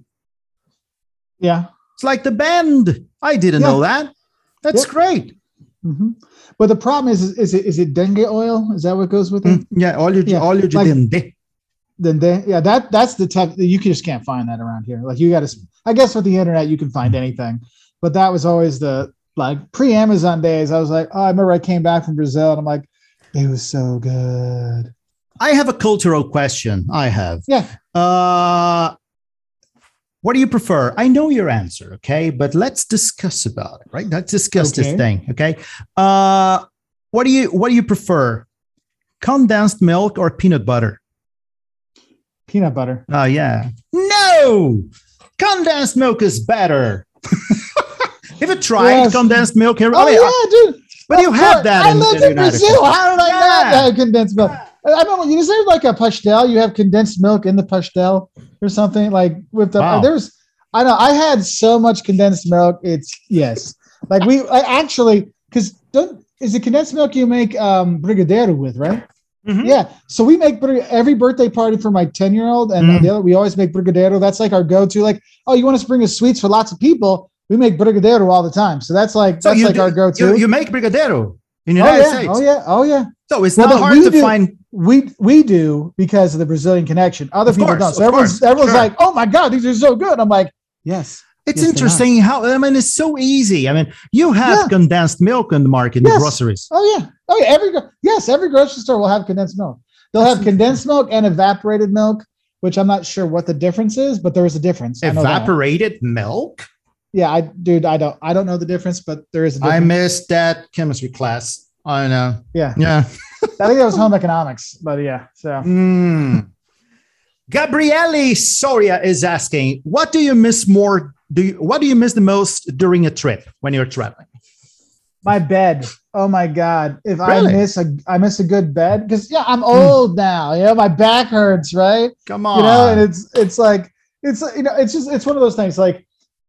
Yeah. It's like the band. I didn't yeah. know that. That's yep. great. Mm-hmm. But the problem is, is, is it is it dengue oil? Is that what goes with it? Mm, yeah, óleo de, yeah. óleo de like, dendê. Then they, yeah, that that's the type that you just can't find that around here. Like you got to, I guess with the internet you can find anything, but that was always the like pre-Amazon days. I was like, oh, I remember I came back from Brazil and I'm like, it was so good. I have a cultural question. I have, yeah. Uh, what do you prefer? I know your answer, okay, but let's discuss about it, right? Let's discuss okay. this thing, okay? Uh, what do you what do you prefer? Condensed milk or peanut butter? Peanut butter. Oh, yeah. No! Condensed milk is better. Have you tried yes. condensed milk here? Oh, I mean, yeah, dude. But you have that I in, lived in, in Brazil. How did I yeah. not have condensed milk? I remember, you say like a pastel, you have condensed milk in the pastel or something like with the, wow. there's, I know, I had so much condensed milk. It's, yes. Like we I actually, because don't, is it condensed milk you make um, brigadeiro with, right? Mm-hmm. Yeah, so we make every birthday party for my ten-year-old, and mm. the other, we always make brigadeiro. That's like our go-to. Like, oh, you want us to bring us sweets for lots of people? We make brigadeiro all the time. So that's like so that's like do, our go-to. You, you make brigadeiro? in the Oh United yeah. States. Oh yeah. Oh yeah. So it's Well, not but hard we to do- find. We we do because of the Brazilian connection. Other Of people course, don't. So of everyone's course, everyone's sure. like, "Oh my god, these are so good." I'm like, "Yes." It's yes, they are. interesting how, I mean, it's so easy. I mean, you have Yeah. condensed milk in the market, in Yes. the groceries. Oh yeah. Oh yeah. Every gro- yes, every grocery store will have condensed milk. They'll That's have condensed milk and evaporated milk, which I'm not sure what the difference is, but there is a difference. I know that. Evaporated milk? Yeah, I dude, I don't I don't know the difference, but there is a I difference. missed that chemistry class. I know. yeah. Yeah. I think that was home economics, but yeah. So Mm. Gabriele Soria is asking, what do you miss more? Do you, what do you miss the most during a trip when you're traveling? my bed. Oh my God. If Really? I miss a I miss a good bed, because yeah, I'm old now. You know, my back hurts, right? Come on. You know, and it's it's like it's you know, it's just it's one of those things. Like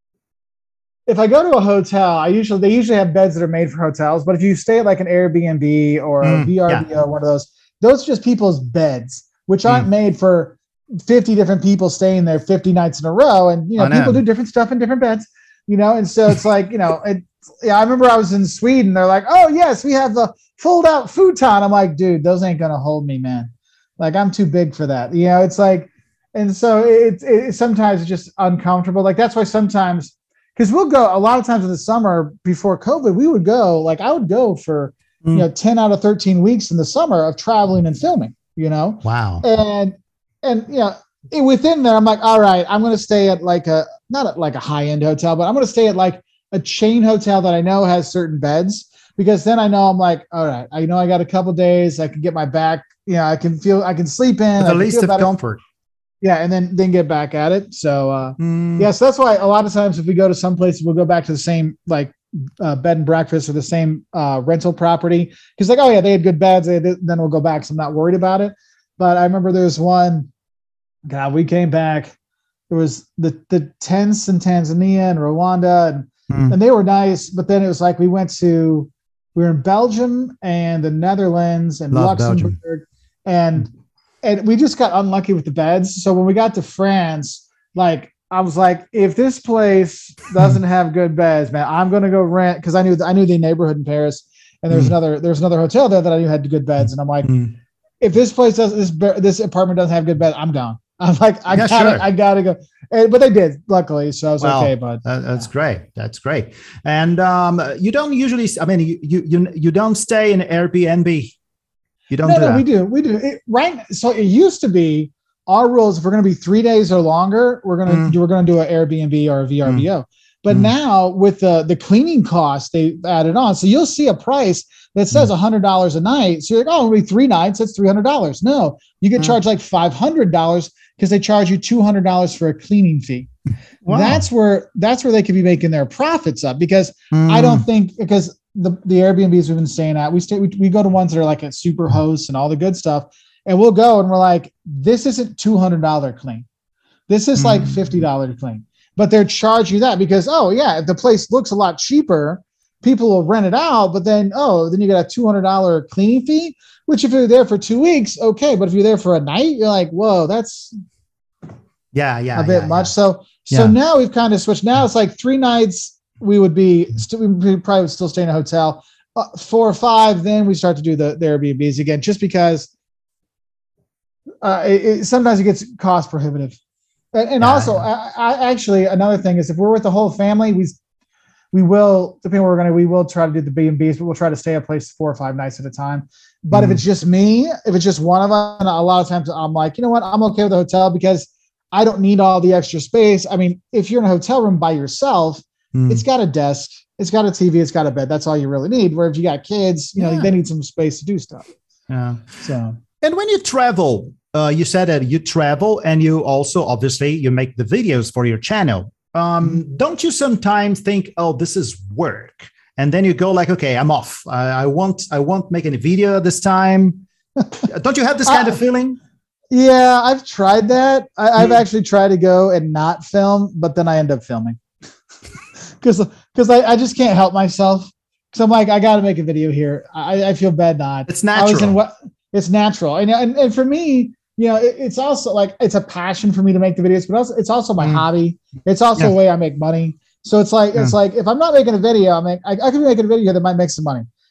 if I go to a hotel, I usually they usually have beds that are made for hotels, but if you stay at like an Airbnb or a Mm, V R B O, one of those, those are just people's beds, which aren't Mm. made for fifty different people staying there fifty nights in a row. And you know, I know. people do different stuff in different beds, you know, and so it's like, you know, it yeah, I remember I was in Sweden, they're like, oh yes, we have the fold out futon. I'm like, dude, those ain't gonna hold me, man. Like I'm too big for that. You know, it's like, and so it's it, it, sometimes it's just uncomfortable. Like that's why sometimes, because we'll go a lot of times in the summer before COVID, we would go, like I would go for, Mm. you know, ten out of thirteen weeks in the summer of traveling and filming, you know? Wow. And, and, you know, it, within there, I'm like, all right, I'm going to stay at like a, not at like a high end hotel, but I'm going to stay at like a chain hotel that I know has certain beds, because then I know I'm like, all right, I know I got a couple days, I can get my back, you know, I can feel, I can sleep in. With I the can least feel of better. comfort. Yeah. And then, then get back at it. So, uh, Mm. yeah, so that's why a lot of times if we go to some places, we'll go back to the same like uh, bed and breakfast or the same uh, rental property, because like, oh yeah, they had good beds. They did, then we'll go back, so I'm not worried about it. But I remember there was one. God, we came back. There was the the tents in Tanzania and Rwanda, and Mm. and they were nice. But then it was like we went to we were in Belgium and the Netherlands and Love Luxembourg, Belgium. and and we just got unlucky with the beds. So when we got to France, like I was like, if this place doesn't have good beds, man, I'm gonna go rent, because I knew I knew the neighborhood in Paris, and there's Mm. another there's another hotel there that I knew had good beds, and I'm like, Mm. if this place does this this apartment doesn't have good bed, I'm gone. I'm like, I Yeah, gotta sure. I gotta go. And, but they did, luckily, so I was Well, okay. But That, that's great. That's great. And um, you don't usually, I mean, you, you, you, you don't stay in Airbnb. You don't no, do no, that. we do, we do. It, right. So it used to be our rules. If we're going to be three days or longer, we're gonna Mm. we're gonna do an Airbnb or a V R B O. But Mm. now with the the cleaning costs they added on, so you'll see a price that says a hundred dollars a night. So you're like, oh, it'll be three nights. That's three hundred dollars. No, you get Mm. charged like five hundred dollars because they charge you two hundred dollars for a cleaning fee. Wow. That's where that's where they could be making their profits up, because Mm. I don't think, because the, the Airbnbs we've been staying at, we stay we, we go to ones that are like a super host and all the good stuff, and we'll go and we're like, this isn't two hundred dollars clean. This is like Mm. fifty dollars clean. But they're charging you that because, oh yeah, if the place looks a lot cheaper, people will rent it out, but then oh, then you get a two hundred dollars cleaning fee, which if you're there for two weeks, okay. But if you're there for a night, you're like, whoa, that's Yeah, yeah. a bit yeah, much. yeah. So so Yeah. now we've kind of switched. Now it's like three nights we would be still we probably would still stay in a hotel. Uh, four or five, then we start to do the, the Airbnbs again, just because uh, it, it, sometimes it gets cost prohibitive. And, and Yeah, also, yeah. I, I actually another thing is if we're with the whole family, we we will depending where we're gonna we will try to do the B and Bs, but we'll try to stay a place four or five nights at a time. But if Mhm. it's just me, if it's just one of us, and a lot of times I'm like, you know what, I'm okay with the hotel because I don't need all the extra space. I mean, if you're in a hotel room by yourself, Mm. it's got a desk, it's got a T V, it's got a bed. That's all you really need. Where if you got kids, you know, Yeah. they need some space to do stuff. Yeah. So And when you travel, uh, you said that you travel and you also obviously you make the videos for your channel. Um, Mm-hmm. Don't you sometimes think, oh, this is work, and then you go like, okay, I'm off. I, I won't. I won't make any video this time. Don't you have this kind I- of feeling? yeah, I've tried that. I, I've Mm. actually tried to go and not film, but then I end up filming because because I, I just can't help myself. So I'm like, I got to make a video here. I, I feel bad not. It's I was in natural. what it's natural, and and, and for me, you know, it, it's also like it's a passion for me to make the videos, but also it's also my Mm. hobby. It's also Yeah. a way I make money. So it's like it's Yeah. like if I'm not making a video, I mean, I, I could be making a video that might make some money.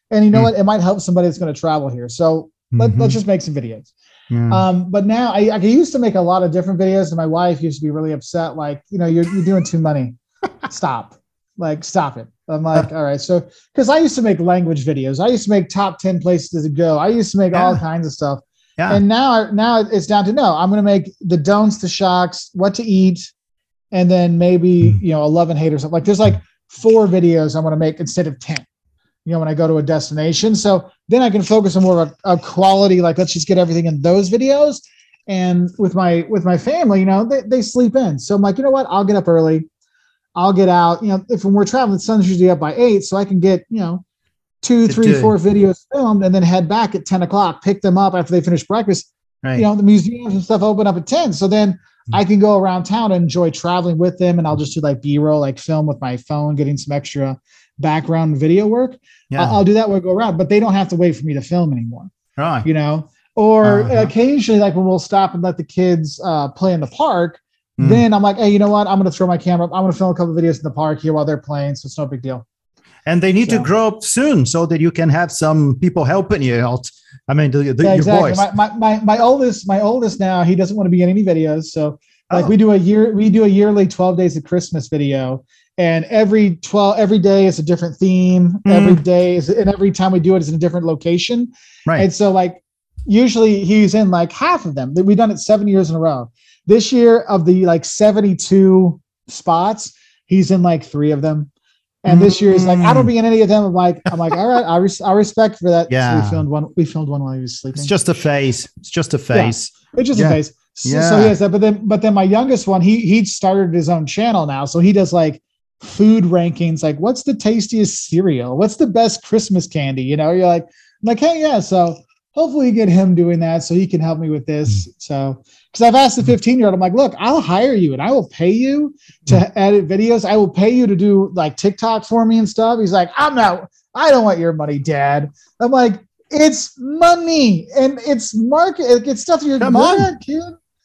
And you know Mm. what? It might help somebody that's going to travel here. So let, Mhm. let's just make some videos. Yeah. Um, but now I, I used to make a lot of different videos, and my wife used to be really upset. Like, you know, you're, you're doing too many. Stop. Like, stop it. I'm like, all right. So, because I used to make language videos. I used to make top ten places to go. I used to make all Yeah. kinds of stuff. Yeah. And now, now it's down to no. I'm going to make the don'ts, the shocks, what to eat, and then maybe, Mm. you know, love and hate or something. Like, there's like four videos I'm going to make instead of ten. You know, when I go to a destination. So then I can focus on more of a, a quality, like let's just get everything in those videos. And with my with my family, you know, they, they sleep in. So I'm like, you know what? I'll get up early. I'll get out. You know, if when we're traveling, the sun's usually up by eight. So I can get, you know, two, three, do. four videos filmed and then head back at ten o'clock, pick them up after they finish breakfast. Right. You know, the museums and stuff open up at ten. So then I can go around town and enjoy traveling with them. And I'll just do like B-roll, like film with my phone, getting some extra background video work. Yeah. I'll, I'll do that when I go around, but they don't have to wait for me to film anymore. Right. You know, or Uh-huh. occasionally, like when we'll stop and let the kids uh, play in the park, Mm. then I'm like, hey, you know what? I'm going to throw my camera up. I'm going to film a couple of videos in the park here while they're playing. So it's no big deal. And they need So. to grow up soon so that you can have some people helping you out. I mean, the, the, Yeah, your exactly. boys. My, my, my, my oldest, my oldest now, he doesn't want to be in any videos. So like Oh. we do a year, we do a yearly twelve days of Christmas video, and every twelve, every day is a different theme. Mm. Every day is, and every time we do it is in a different location. Right. And so like, usually he's in like half of them. We've done it seven years in a row. This year of the like seventy-two spots, he's in like three of them. And this year is like, I don't be in any of them. I'm like, I'm like, all right, I, res- I respect for that. Yeah. So we filmed one, we filmed one while he was sleeping. It's just a phase. It's just a phase. It's just Yeah. a face. So, Yeah. so he has that. But then, but then my youngest one, he he started his own channel now. So he does like food rankings, like what's the tastiest cereal? What's the best Christmas candy? You know, you're like, I'm like, hey, yeah. So hopefully you get him doing that so he can help me with this. So, because I've asked the fifteen year old, I'm like, look, I'll hire you and I will pay you to edit videos. I will pay you to do like TikTok for me and stuff. He's like, I'm not, I don't want your money, Dad. I'm like, it's money and it's market. It's stuff you're Come good on. at, kid.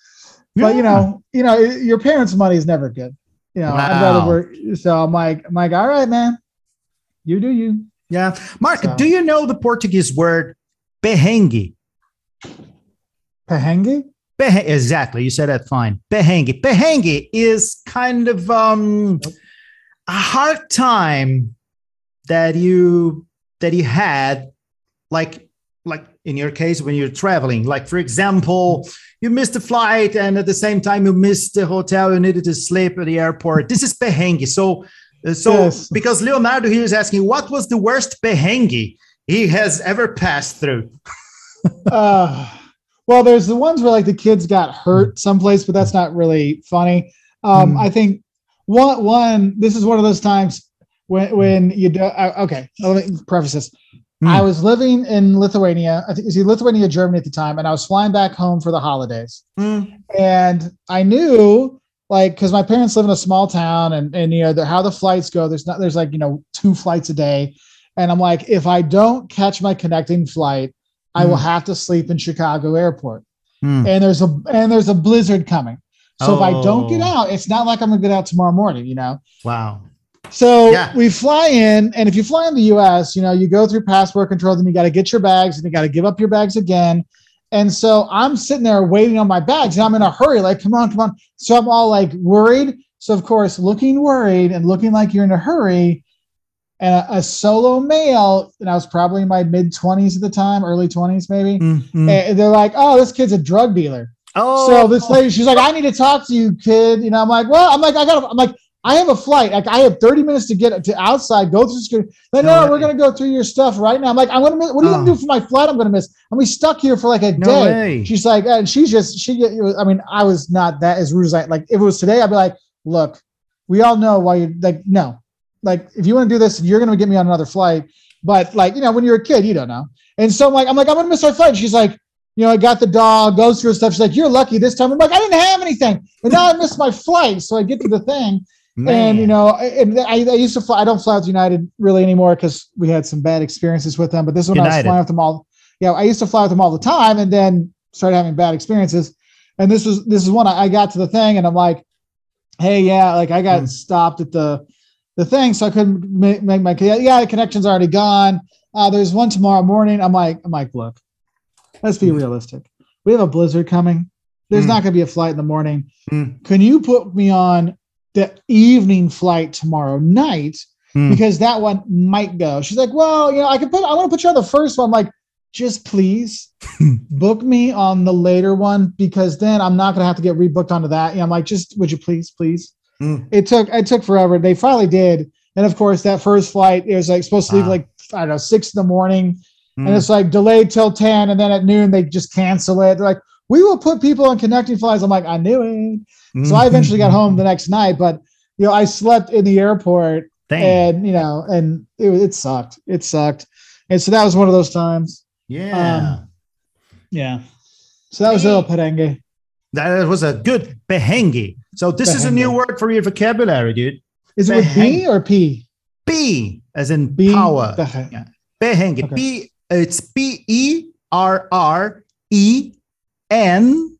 But you Yeah. know, you know, your parents' money is never good. You know, I'd rather Wow. work. So I'm like, I'm like, all right, man, you do you. Yeah. Mark, So. do you know the Portuguese word perrengue? Pahengi? Perrengue, exactly. You said that fine. Perrengue. Perrengue is kind of um, a hard time that you that you had, like like in your case when you're traveling. Like for example, you missed a flight and at the same time you missed the hotel. You needed to sleep at the airport. This is perrengue. So uh, so Yes. because Leonardo here is asking, what was the worst perrengue he has ever passed through? uh, well, there's the ones where like the kids got hurt someplace, but that's not really funny. Um, Mm. I think one, one, this is one of those times when, when you do, uh, okay, let me preface this. Mm. I was living in Lithuania. I think it was Lithuania, Germany at the time. And I was flying back home for the holidays. Mm. And I knew like, cause my parents live in a small town and, and, you know, the, how the flights go, there's not, there's like, you know, two flights a day. And I'm like, if I don't catch my connecting flight, I will Mm. have to sleep in Chicago airport. Mm. And there's a, and there's a blizzard coming. So if I don't get Oh. out, it's not like I'm gonna get out tomorrow morning, you know? Wow. So Yeah. we fly in, and if you fly in the U S, you know, you go through passport control, then you got to get your bags and you got to give up your bags again. And so I'm sitting there waiting on my bags and I'm in a hurry, like, come on, come on. So I'm all like worried. So of course, looking worried and looking like you're in a hurry, and a, a solo male, and I was probably in my mid twenties at the time, early twenties, maybe. Mm, mm. And they're like, oh, this kid's a drug dealer. Oh, So this lady, she's like, I need to talk to you, kid. You know, I'm like, well, I'm like, I got, I'm like, I have a flight. Like, I have thirty minutes to get to outside, go through security. Like, no, No no, we're way. gonna go through your stuff right now. I'm like, I'm gonna miss. What are you Oh. gonna do for my flight? I'm gonna miss. I'm gonna be stuck here for like a No day. way. She's like, and she's just, she. I mean, I was not that as rude as I like. If it was today, I'd be like, look, we all know why you're like, no, like if you want to do this, you're gonna get me on another flight. But like, you know, when you're a kid, you don't know. And so I'm like, I'm like, I'm gonna miss our flight. She's like, you know, I got the dog, goes through stuff. She's like, you're lucky this time. I'm like, I didn't have anything. And now I missed my flight. So I get to the thing. Man. And, you know, and I, I used to fly, I don't fly with United really anymore because we had some bad experiences with them. But this one, I was United. flying with them all. Yeah, I used to fly with them all the time and then started having bad experiences. And this was, this is one I, I got to the thing and I'm like, hey, yeah, like I got Hmm. stopped at the, the thing. So I couldn't make, make my, yeah, the connection's already gone. Uh, there's one tomorrow morning. I'm like, I'm like, look, let's be realistic. We have a blizzard coming. There's mm. not going to be a flight in the morning. Mm. Can you put me on the evening flight tomorrow night? Mm. Because that one might go. She's like, well, you know, I can put, I want to put you on the first one. I'm like, just please book me on the later one, because then I'm not going to have to get rebooked onto that. You know, I'm like, just, would you please, please? Mm. It took, it took forever. They finally did. And of course that first flight, it was like supposed to leave wow. like, I don't know, six in the morning. Mm. And it's like delayed till ten. And then at noon, they just cancel it. They're like, we will put people on connecting flights. I'm like, I knew it. Mm. So I eventually got home the next night, but you know, I slept in the airport. Dang. And, you know, and it, it sucked. It sucked. And so that was one of those times. Yeah. Um, yeah. So that was a little perengue. That was a good behengue. So this behengue. is a new word for your vocabulary, dude. Is it with B or P? P, as in B, power. Behengue. Yeah. Behengue. Okay. P, it's P E R R E N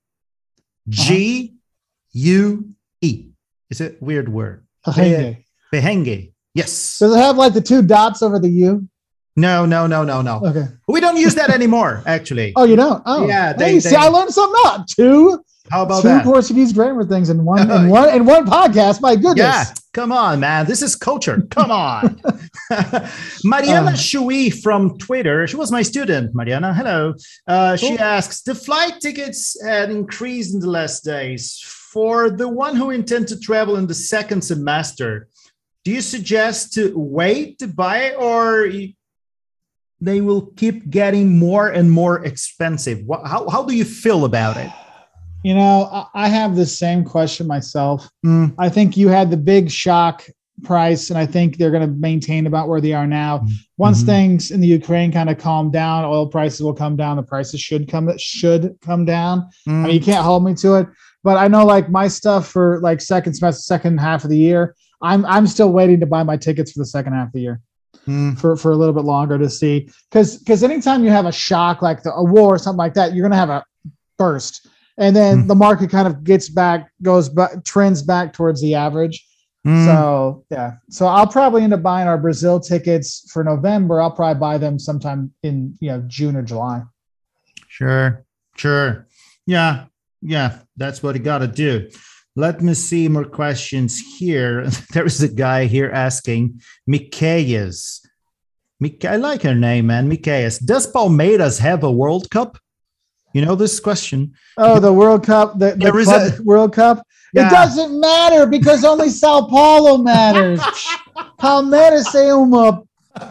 G U E. It's a weird word. Behengue. Behengue. Yes. Does it have like the two dots over the U? No, no, no, no, no. Okay. We don't use that anymore, actually. Oh, you don't? Oh, yeah. They, hey, see, they, I learned something out. Two. How about two that? Two Portuguese grammar things in one, in one, in one podcast. My goodness. Yeah. Come on, man. This is culture. Come on. Mariana uh, Shui from Twitter. She was my student, Mariana. Hello. Uh, cool. She asks, the flight tickets had increased in the last days. For the one who intend to travel in the second semester, do you suggest to wait to buy, or they will keep getting more and more expensive? What, how, how do you feel about it? You know, I have the same question myself. Mm. I think you had the big shock price, and I think they're going to maintain about where they are now. Mm-hmm. Once things in the Ukraine kind of calm down, oil prices will come down. The prices should come, should come down. Mm. I mean, you can't hold me to it, but I know like my stuff for like second semester, second half of the year, I'm, I'm still waiting to buy my tickets for the second half of the year. Mm. For, for a little bit longer to see. Because because anytime you have a shock like the, a war or something like that, you're going to have a burst. And then mm. the market kind of gets back, goes back, trends back towards the average. Mm. So, yeah. So I'll probably end up buying our Brazil tickets for November. I'll probably buy them sometime in, you know, June or July. Sure. Sure. Yeah. Yeah. That's what you got to do. Let me see more questions here. There is a guy here asking, Miqueias. Mik- I like her name, man. Miqueias. Does Palmeiras have a World Cup? You know this question. Oh, the World Cup, the, the club a, World Cup. Yeah. It doesn't matter because only Sao Paulo matters. Palmeiras é uma.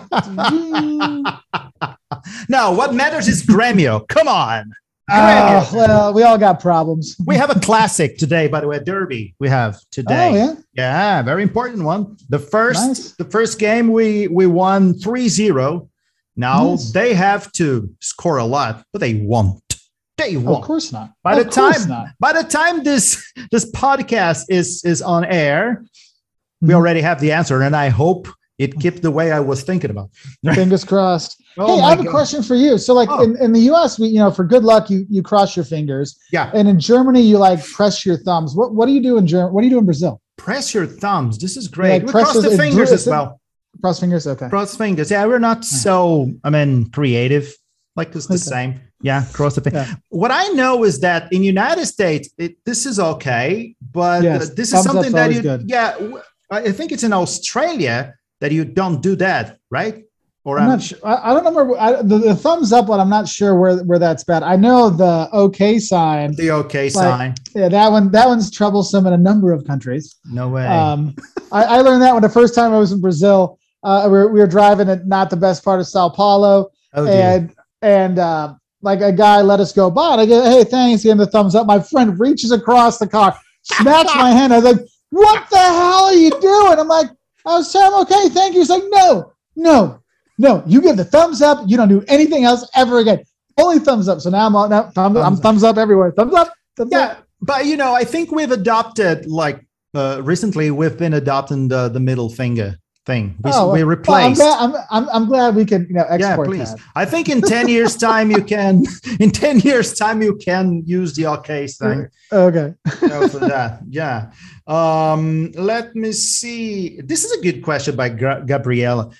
No, what matters is Grêmio. Come on. Oh, well, we all got problems. We have a classic today, by the way, Derby we have today. Oh, yeah? Yeah, very important one. The first nice. the first game, we, we won three zero. Now, nice. They have to score a lot, but they won't. They won't. Oh, of course not. By of the time, not. By the time this, this podcast is, is on air, we mm-hmm. already have the answer, and I hope it kept the way I was thinking about. Fingers crossed. Oh, hey, I have God. a question for you. So, like oh. in, in the U S, we you know for good luck, you you cross your fingers. Yeah. And in Germany, you like press your thumbs. What what do you do in Germany? What do you do in Brazil? Press your thumbs. This is great. Like we cross the fingers as well. Cross fingers. Okay. Cross fingers. Yeah, we're not so. I mean, creative. Like it's the okay. same. Yeah, cross the fingers. Yeah. What I know is that in United States, it, this is okay, but yes, uh, this is something that you. Good. Yeah, I think it's in Australia that you don't do that, right? Or I'm, I'm not sure. I, I don't remember I, the, the thumbs up one. I'm not sure where, where that's bad. I know the okay sign. The okay like, sign. Yeah, that one. That one's troublesome in a number of countries. No way. Um, I, I learned that one the first time I was in Brazil. Uh, we, were, we were driving at not the best part of Sao Paulo, oh, and and uh, like a guy let us go by. And I go, hey, thanks. Give him the thumbs up. My friend reaches across the car, snatched my hand. I was like, what the hell are you doing? I'm like, I was saying, I'm okay, thank you. He's like, no, no. No, you give the thumbs up. You don't do anything else ever again. Only thumbs up. So now I'm all, now thumbs, thumbs I'm up. thumbs up everywhere. Thumbs up. Thumbs yeah, up. But you know, I think we've adopted like uh, recently we've been adopting the, the middle finger thing. We, oh, we replaced. Well, I'm, glad, I'm, I'm I'm glad we can you know export yeah, please. that. I think in ten years time you can in ten years time you can use the okay thing. Okay. You know, for that. Yeah. Um, let me see. This is a good question by Gra- Gabriella.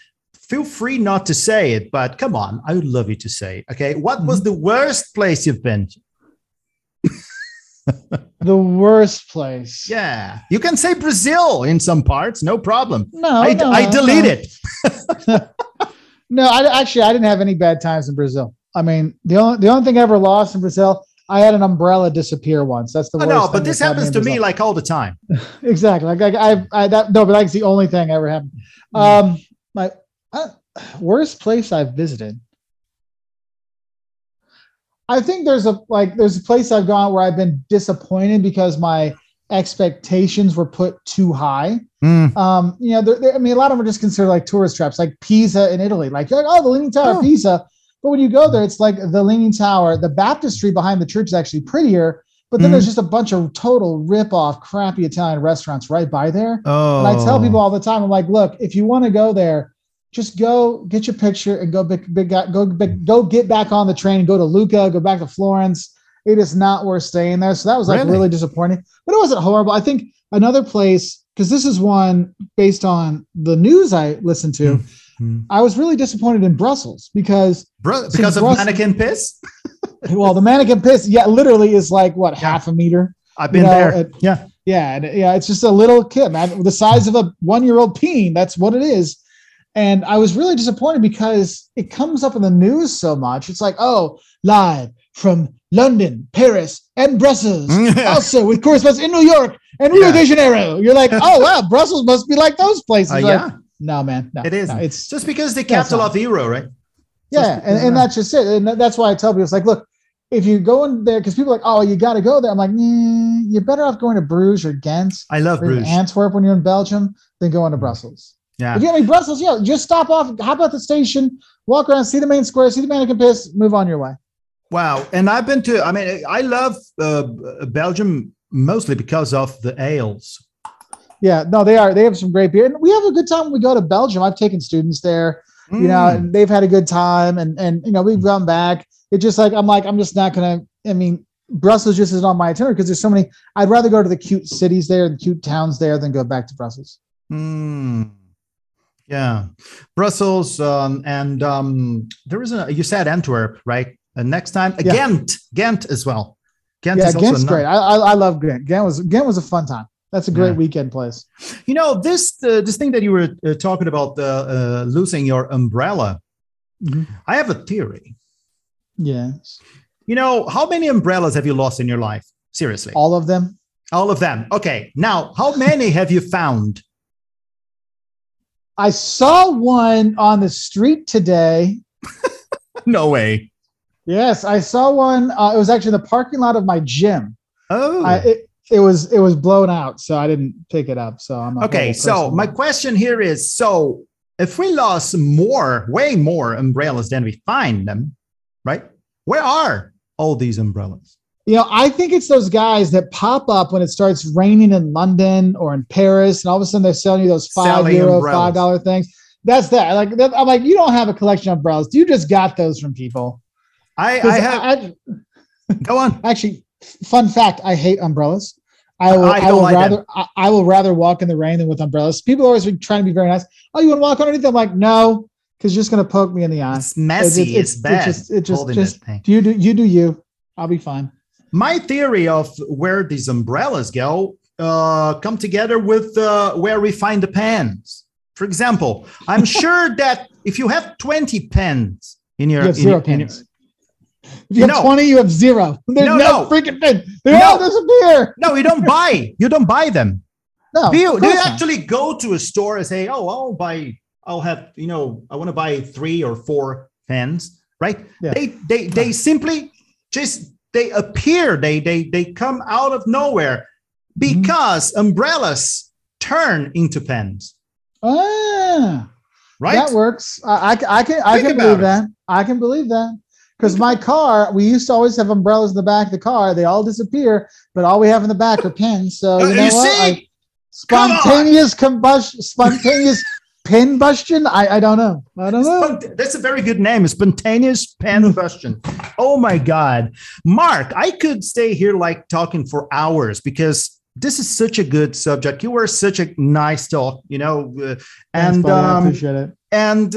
feel free not to say it, but come on, I would love you to say it. Okay, what was the worst place you've been? The worst place. Yeah, you can say Brazil in some parts, no problem. No, I, no, I delete no. it. No, I actually I didn't have any bad times in Brazil. I mean, the only the only thing I ever lost in Brazil, I had an umbrella disappear once. That's the I worst. know, thing but this that's happens happened to in me Brazil. like all the time. Exactly. Like I, I, I that no, but that's the only thing ever happened. Um, my uh, worst place I've visited. I think there's a like there's a place I've gone where I've been disappointed because my expectations were put too high. Mm. Um, you know, they're, they're, I mean, a lot of them are just considered like tourist traps, like Pisa in Italy. Like, you're like, oh, the Leaning Tower Oh. of Pisa. But when you go there, it's like the Leaning Tower. The baptistry behind the church is actually prettier, but then Mm. there's just a bunch of total rip-off, crappy Italian restaurants right by there. Oh, And I tell people all the time, I'm like, look, if you want to go there, just go get your picture and go big, big, go big, go get back on the train, go to Lucca, go back to Florence. It is not worth staying there. So that was like Really? really disappointing, but it wasn't horrible. I think another place, because this is one based on the news I listened to, Mm. I was really disappointed in Brussels because, Bro, because of Brussels- mannequin piss. well, the mannequin piss, yeah, literally is like what, half a meter? I've been You know, there. it- yeah. Yeah, and yeah, it's just a little kid, man, the size of a one-year-old peen. That's what it is. And I was really disappointed because it comes up in the news so much. It's like, oh, live from London, Paris, and Brussels. Also with correspondents in New York and Rio Yeah. de Janeiro. You're like, oh, wow, Brussels must be like those places. Uh, You're yeah, like, no, man. No, it is. no, it's just because the Yeah, it's capital not. of the euro, right? yeah, Just and, because, and uh, that's just it. And that's why I tell people, it's like, look, if you go in there, because people are like, oh, you got to go there. I'm like, mm, you're better off going to Bruges or Ghent I love or even Bruges. Antwerp when you're in Belgium than going to Brussels. Yeah. If you're in Brussels, yeah, just stop off, hop at the station, walk around, see the main square, see the mannequin piss, move on your way. Wow. And I've been to, I mean, I love uh, Belgium mostly because of the ales. Yeah, no, they are. They have some great beer, and we have a good time when we go to Belgium. I've taken students there, you know, Mm. and they've had a good time, and and you know, we've gone back. It's just like I'm like I'm just not gonna. I mean, Brussels just isn't on my itinerary because there's so many. I'd rather go to the cute cities there, the cute towns there, than go back to Brussels. Mm. Yeah. Brussels. Um, and um, there is a, you said Antwerp, right? And next time, uh, Yeah. Ghent, Ghent as well. Ghent Yeah, is also Ghent's a- great. I, I I love Ghent. Ghent was Ghent was a fun time. That's a great Yeah. weekend place. You know, this uh, this thing that you were uh, talking about, uh, uh, losing your umbrella. Mhm. I have a theory. Yes, You know, how many umbrellas have you lost in your life? Seriously, all of them. all of them. Okay, now how many have you found? I saw one on the street today. No way. Yes, I saw one. Uh, it was actually in the parking lot of my gym. Oh, I, it, it was it was blown out, so I didn't pick it up. So I'm a okay. horrible So person. my question here is: so if we lost more, way more umbrellas than we find them, right? Where are all these umbrellas? You know, I think it's those guys that pop up when it starts raining in London or in Paris, and all of a sudden they're selling you those five Selling euro, umbrellas. five dollar things. That's that. Like that, I'm like, you don't have a collection of umbrellas. You just got those from people. I, 'Cause I have. I- Go on. actually, fun fact: I hate umbrellas. I will. I I, don't will like them. rather. I, I will rather walk in the rain than with umbrellas. People are always trying to be very nice. Oh, you want to walk underneath? I'm like, no, because you're just going to poke me in the eye. It's messy. It's, it's bad. just, it just, holding just that thing. you do, you do you. I'll be fine. My theory of where these umbrellas go uh, come together with uh, where we find the pens. For example, I'm sure that if you have twenty pens in your, You have in zero your- in your- pens. If you have No. twenty, you have zero. There's No, no, no. freaking pen. They No. all disappear. no, you don't buy. You don't buy them. No, Do you, of do you course not. actually go to a store and say, "Oh, I'll buy. I'll have. You know, I want to buy three or four pens." Right? Yeah. They they they simply just they appear. They they they come out of nowhere Mm-hmm. because umbrellas turn into pens. Ah, Right? that works. I, I, I can, I Think can about believe it. that. I can believe that. Because my car, we used to always have umbrellas in the back of the car. They all disappear, but all we have in the back are pens. So Uh, you know you what? see? I, Come on. spontaneous combustion, spontaneous combustion. I, I don't know. I don't know. Spont- That's a very good name. Spontaneous pen combustion. Oh my God. Mark, I could stay here like talking for hours because this is such a good subject. You were such a nice talk, you know, uh, Thanks, and buddy. I um, appreciate it. and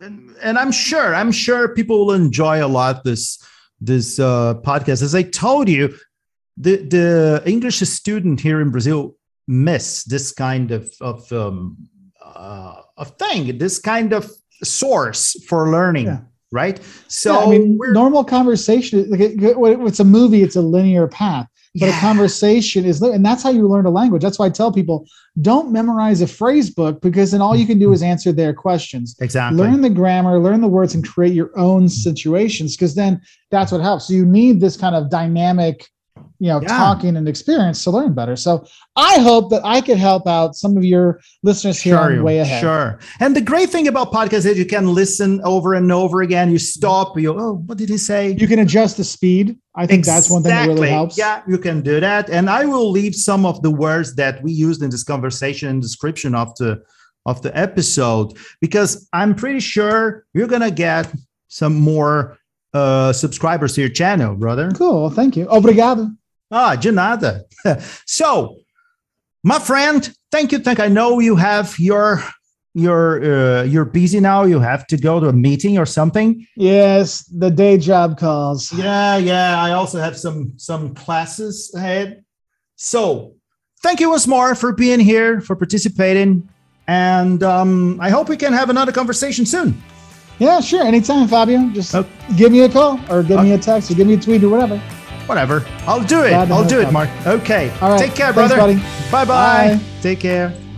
and, and I'm sure, I'm sure people will enjoy a lot this this uh, podcast. As I told you, the the English student here in Brazil miss this kind of of um, uh, of thing, this kind of source for learning. Yeah. Right. So yeah, I mean, normal conversation, like it, it's a movie, it's a linear path, but yeah. a conversation is, and that's how you learn a language. That's why I tell people, don't memorize a phrase book, because then all you can do is answer their questions. Exactly. Learn the grammar, learn the words, and create your own situations, because then that's what helps. So you need this kind of dynamic, you know, yeah. talking and experience to learn better. So I hope that I could help out some of your listeners here sure, on Way Ahead. Sure. And the great thing about podcasts is you can listen over and over again. You stop, you, oh, what did he say? You can adjust the speed. I think exactly. that's one thing that really helps. Yeah, you can do that. And I will leave some of the words that we used in this conversation in the description of the, of the episode, because I'm pretty sure you're going to get some more uh, subscribers to your channel, brother. Cool. Thank you. Obrigado. Ah, de nada. So, my friend, thank you. Thank. I know you have your your uh, you're busy now. You have to go to a meeting or something. Yes, the day job calls. Yeah, yeah. I also have some some classes ahead. So, thank you once more for being here, for participating, and um, I hope we can have another conversation soon. Yeah, sure. Anytime, Fabio. Just okay. give me a call or give okay. me a text or give me a tweet or whatever. Whatever. I'll do it. I'll do it, Mark. Okay. All right. Take care, Thanks, brother. buddy. Bye-bye. Bye. Take care.